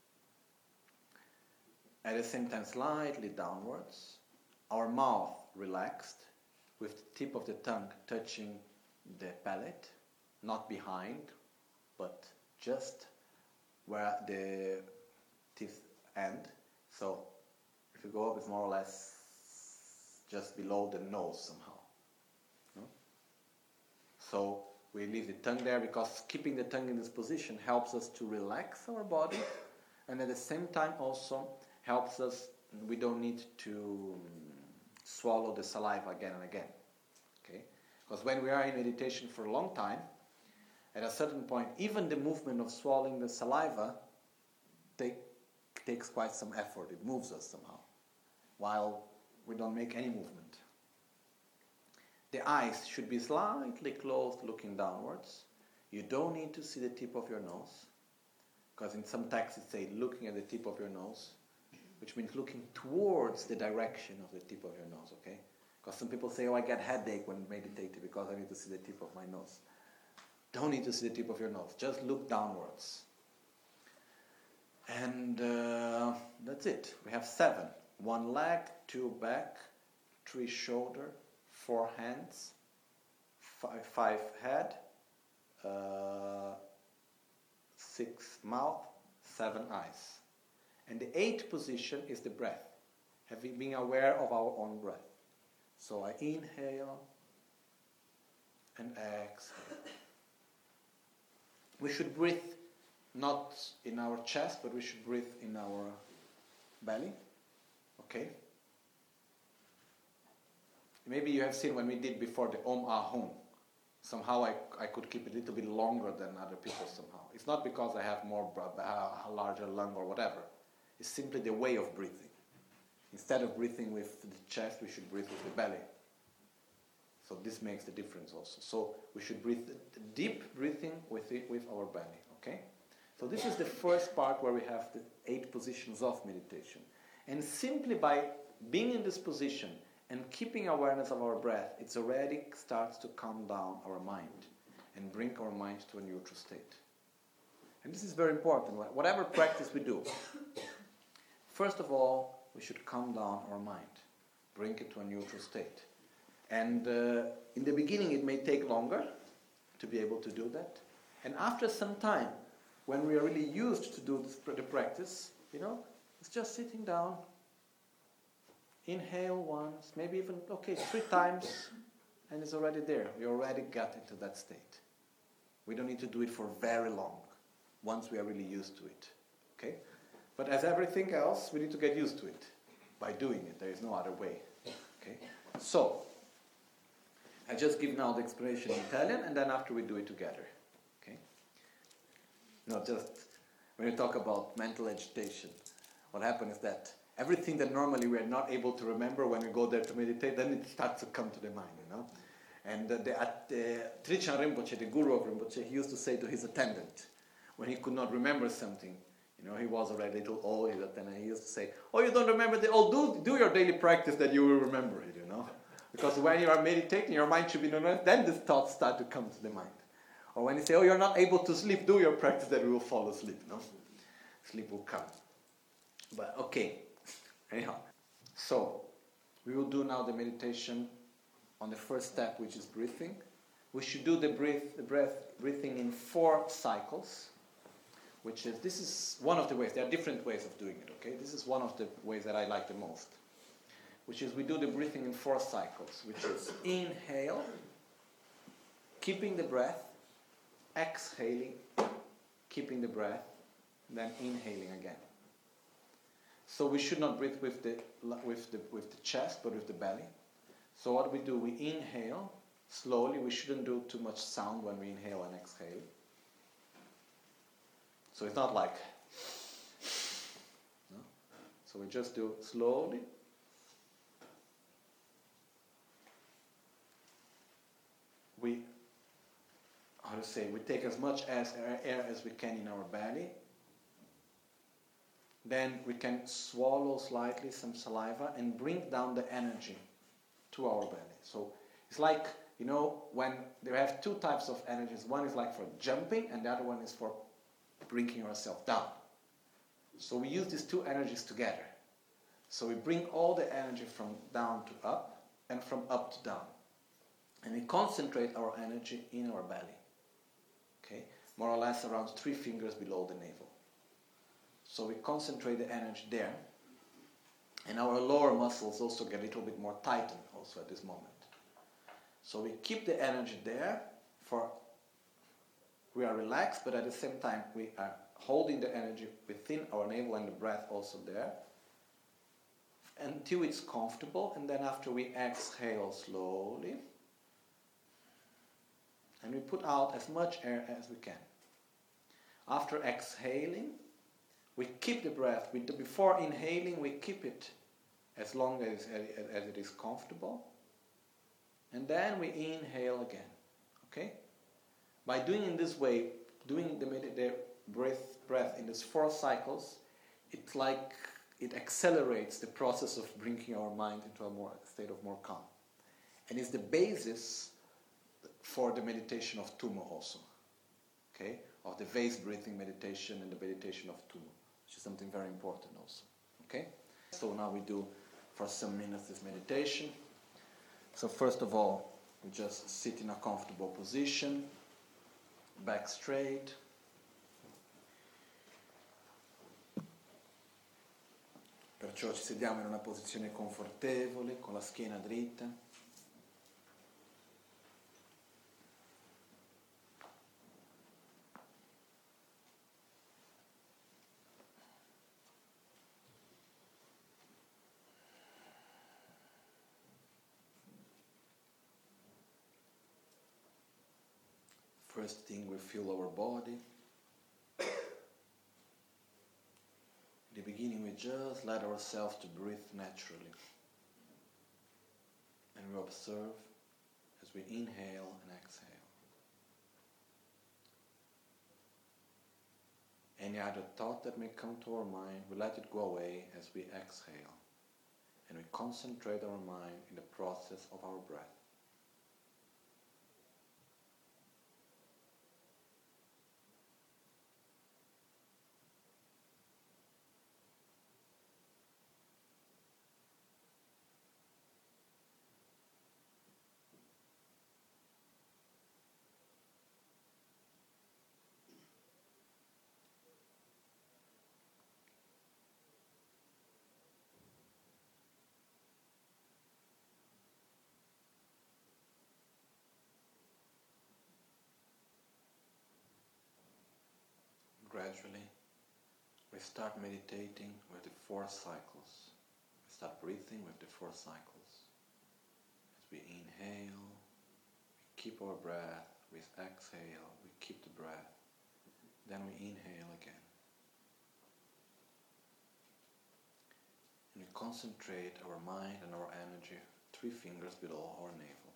At the same time, slightly downwards. Our mouth relaxed, with the tip of the tongue touching the palate, not behind, but just where the teeth end. So if you go up, it's more or less just below the nose somehow. No? So we leave the tongue there because keeping the tongue in this position helps us to relax our body, and at the same time also helps us, we don't need to swallow the saliva again and again. Okay? Because when we are in meditation for a long time, at a certain point, even the movement of swallowing the saliva take, takes quite some effort. It moves us somehow, while we don't make any movement. The eyes should be slightly closed, looking downwards. You don't need to see the tip of your nose, because in some texts it says looking at the tip of your nose, which means looking towards the direction of the tip of your nose, okay? Because some people say, oh, I get headache when meditating because I need to see the tip of my nose. Don't need to see the tip of your nose. Just look downwards. And uh, that's it. We have seven. One leg, two back, three shoulder, four hands, five, five head, uh, six mouth, seven eyes. And the eighth position is the breath. Having been aware of our own breath. So I inhale and exhale. We should breathe not in our chest, but we should breathe in our belly. Okay? Maybe you have seen when we did before the Om Ah Hum. Somehow I, I could keep it a little bit longer than other people somehow. It's not because I have more, uh, larger lung or whatever. It's simply the way of breathing. Instead of breathing with the chest, we should breathe with the belly. So this makes the difference also. So we should breathe deep breathing with it, with our belly. Okay? So this is the first part where we have the eight positions of meditation. And simply by being in this position and keeping awareness of our breath, it already starts to calm down our mind and bring our mind to a neutral state. And this is very important. Whatever practice we do, first of all, we should calm down our mind, bring it to a neutral state. And uh, in the beginning it may take longer to be able to do that. And after some time, when we are really used to do this, the practice, you know, it's just sitting down, inhale once, maybe even, okay, three times, and it's already there. We already got into that state. We don't need to do it for very long, once we are really used to it. Okay? But as everything else, we need to get used to it by doing it. There is no other way. Okay? So, I just give now the explanation in Italian, and then after we do it together. Okay? No, just when you talk about mental agitation, what happens is that everything that normally we are not able to remember when we go there to meditate, then it starts to come to the mind, you know. And uh, the, uh, the Trijang Rinpoche, the guru of Rinpoche, he used to say to his attendant, when he could not remember something, you know, he was already a little old, and he used to say, oh, you don't remember the, oh, do, do your daily practice that you will remember it, you know. Because when you are meditating, your mind should be known, then the thoughts start to come to the mind. Or when you say, oh, you're not able to sleep, do your practice that you will fall asleep, no? Sleep will come. But, okay. Anyhow. So, we will do now the meditation on the first step, which is breathing. We should do the breath, the breath, breathing in four cycles, which is, this is one of the ways. There are different ways of doing it, okay? This is one of the ways that I like the most, which is we do the breathing in four cycles, which is inhale, keeping the breath, exhaling, keeping the breath, then inhaling again. So we should not breathe with the, with the, with the chest, but with the belly. So what we do, we inhale slowly. We shouldn't do too much sound when we inhale and exhale. So it's not like, no? So we just do slowly. We, how to say, we take as much as air as we can in our belly. Then we can swallow slightly some saliva and bring down the energy to our belly. So it's like you know, when they have two types of energies. One is like for jumping, and the other one is for bringing yourself down. So we use these two energies together. So we bring all the energy from down to up, and from up to down. And we concentrate our energy in our belly. Okay? More or less around three fingers below the navel. So we concentrate the energy there. And our lower muscles also get a little bit more tightened also at this moment. So we keep the energy there for, we are relaxed, but at the same time we are holding the energy within our navel and the breath also there until it's comfortable, and then after we exhale slowly and we put out as much air as we can. After exhaling, we keep the breath. We do, before inhaling, we keep it as long as, as, as it is comfortable. And then we inhale again. Okay? By doing in this way, doing the, the breath, breath in these four cycles, it's like it accelerates the process of bringing our mind into a more state of more calm. And it's the basis for the meditation of Tummo also. Okay? Of the vase breathing meditation and the meditation of Tummo, which is something very important also. Okay? So now we do for some minutes this meditation. So first of all, we just sit in a comfortable position, back straight. Perciò ci sediamo in una posizione confortevole, con la schiena dritta. First thing, we feel our body. In the beginning, we just let ourselves to breathe naturally. And we observe as we inhale and exhale. Any other thought that may come to our mind, we let it go away as we exhale. And we concentrate our mind in the process of our breath. Gradually, we start meditating with the four cycles. We start breathing with the four cycles. As we inhale, we keep our breath. We exhale, we keep the breath. Then we inhale again. And we concentrate our mind and our energy three fingers below our navel.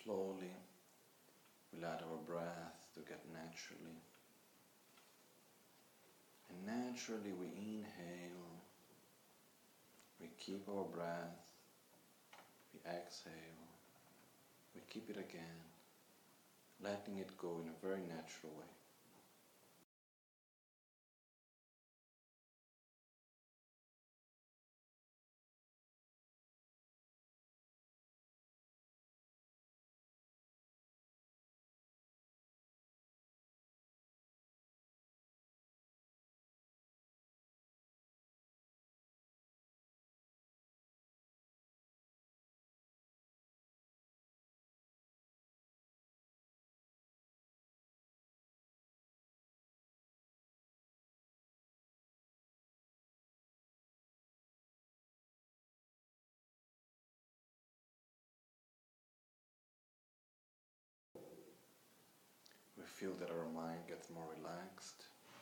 slowly we let our breath to get naturally. And naturally we inhale, we keep our breath, we exhale, we keep it again, letting it go in a very natural way. We feel that our mind gets more relaxed,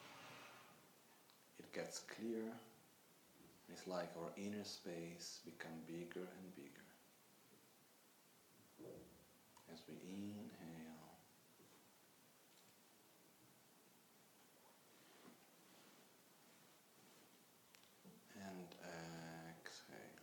it gets clear, it's like our inner space becomes bigger and bigger. As we inhale and exhale.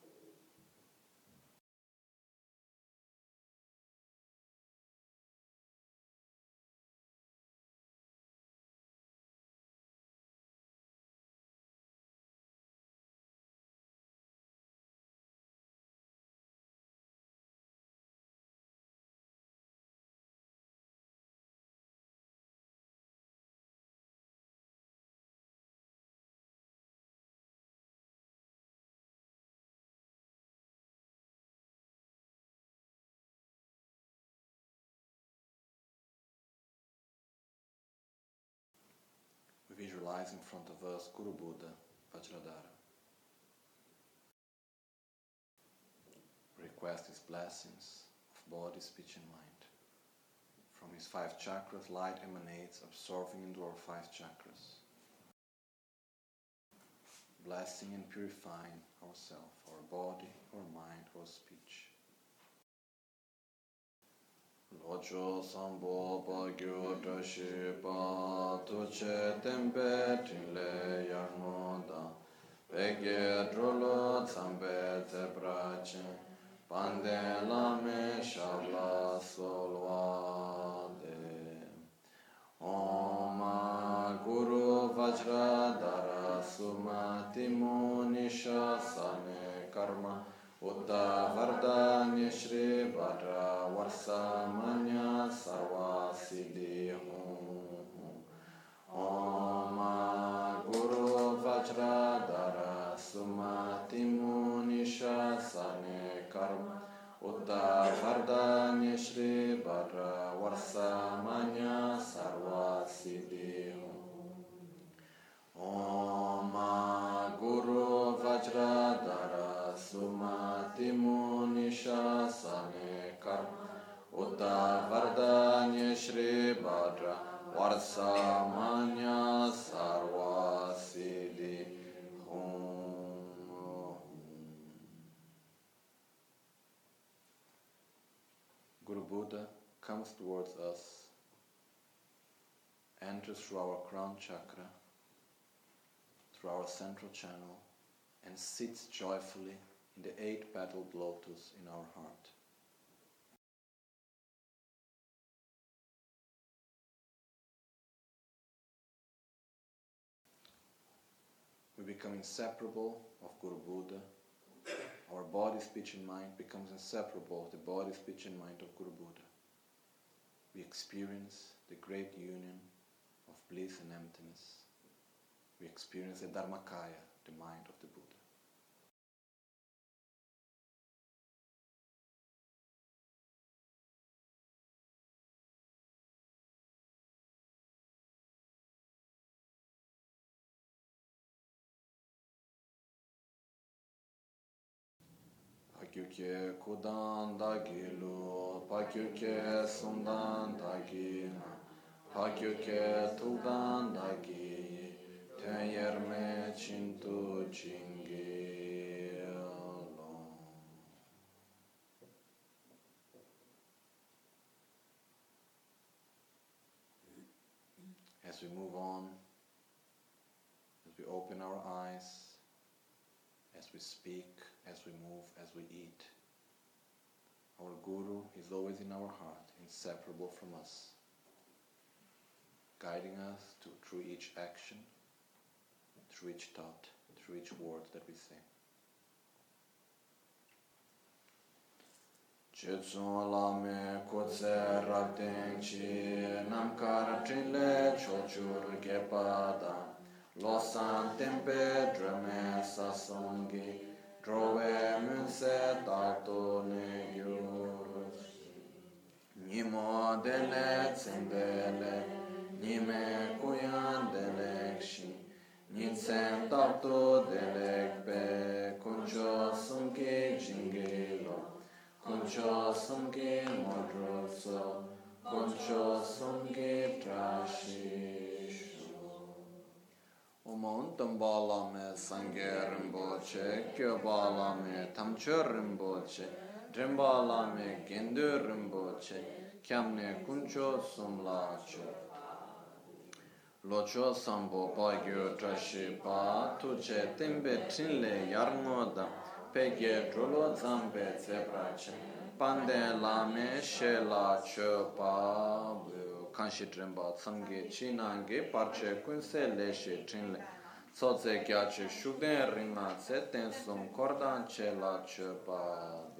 We visualize in front of us Guru Buddha, Vajradhara. Request his blessings of body, speech and mind. From his five chakras, light emanates, absorbing into our five chakras, blessing and purifying ourselves, our body, our mind, our speech. Locho sambo pa gyo dashi pa tuche tempe tinle yarnoda pege drolo tsambe te brache pande lame shabla solvade Om Guru Vajradhara Sumati Munisha Sane Karma Uddha Vardhanya Shri Bhadra Varsamanya Sarva Siddhi Om Guru Vajradhara Sumati Munisha Sane Karma Uddha Vardhanya Shri Bhadra Varsamanya Sarva Siddhi Om Guru Vajradhara Sumati Munisha Sane Karma Uddha Vardhanya Shri Bhadra Varsamanya Sarva Siddhi Guru Buddha comes towards us, enters through our crown chakra, through our central channel, and sits joyfully in the eight-petaled lotus in our heart. We become inseparable of Guru Buddha. Our body, speech and mind becomes inseparable of the body, speech and mind of Guru Buddha. We experience the great union of bliss and emptiness. We experience the Dharmakaya, the mind of the Buddha. Pakyukye kudan dagilu, pakyukye sundan dagina, pakyukye tudan dagi, ten yerme chintu chingi lo. as we move on, as we open our eyes, as we speak, as we move, as we eat. Our Guru is always in our heart, inseparable from us, guiding us to, through each action, through each thought, through each word that we say. Chetsun lame kutse rakten chi namkar trile chochur gepada losan tempe drame sasongi drove munse tato ne yur nimo dele tsendele nime kuyan delekshi nitsen tato delekpe kuncho sunki jingilo Concho sanghe modroso, concho sanghe trashisho. Omon tambala me sanghe rimboche, kyo bala me tamcho rimboche, drimbala me gendu rimboche, kyamne kuncho sumlacho. Locho sambo pagyo trashipa, tuce tembe trinle yarnoda, Peghe drolo zambe zebrace, pande lame shela chopa, kanshi tremba tsamge chinange, parche kunse leshe trinle, soze gyache shugden ringa, seten sum kordan chela chopa.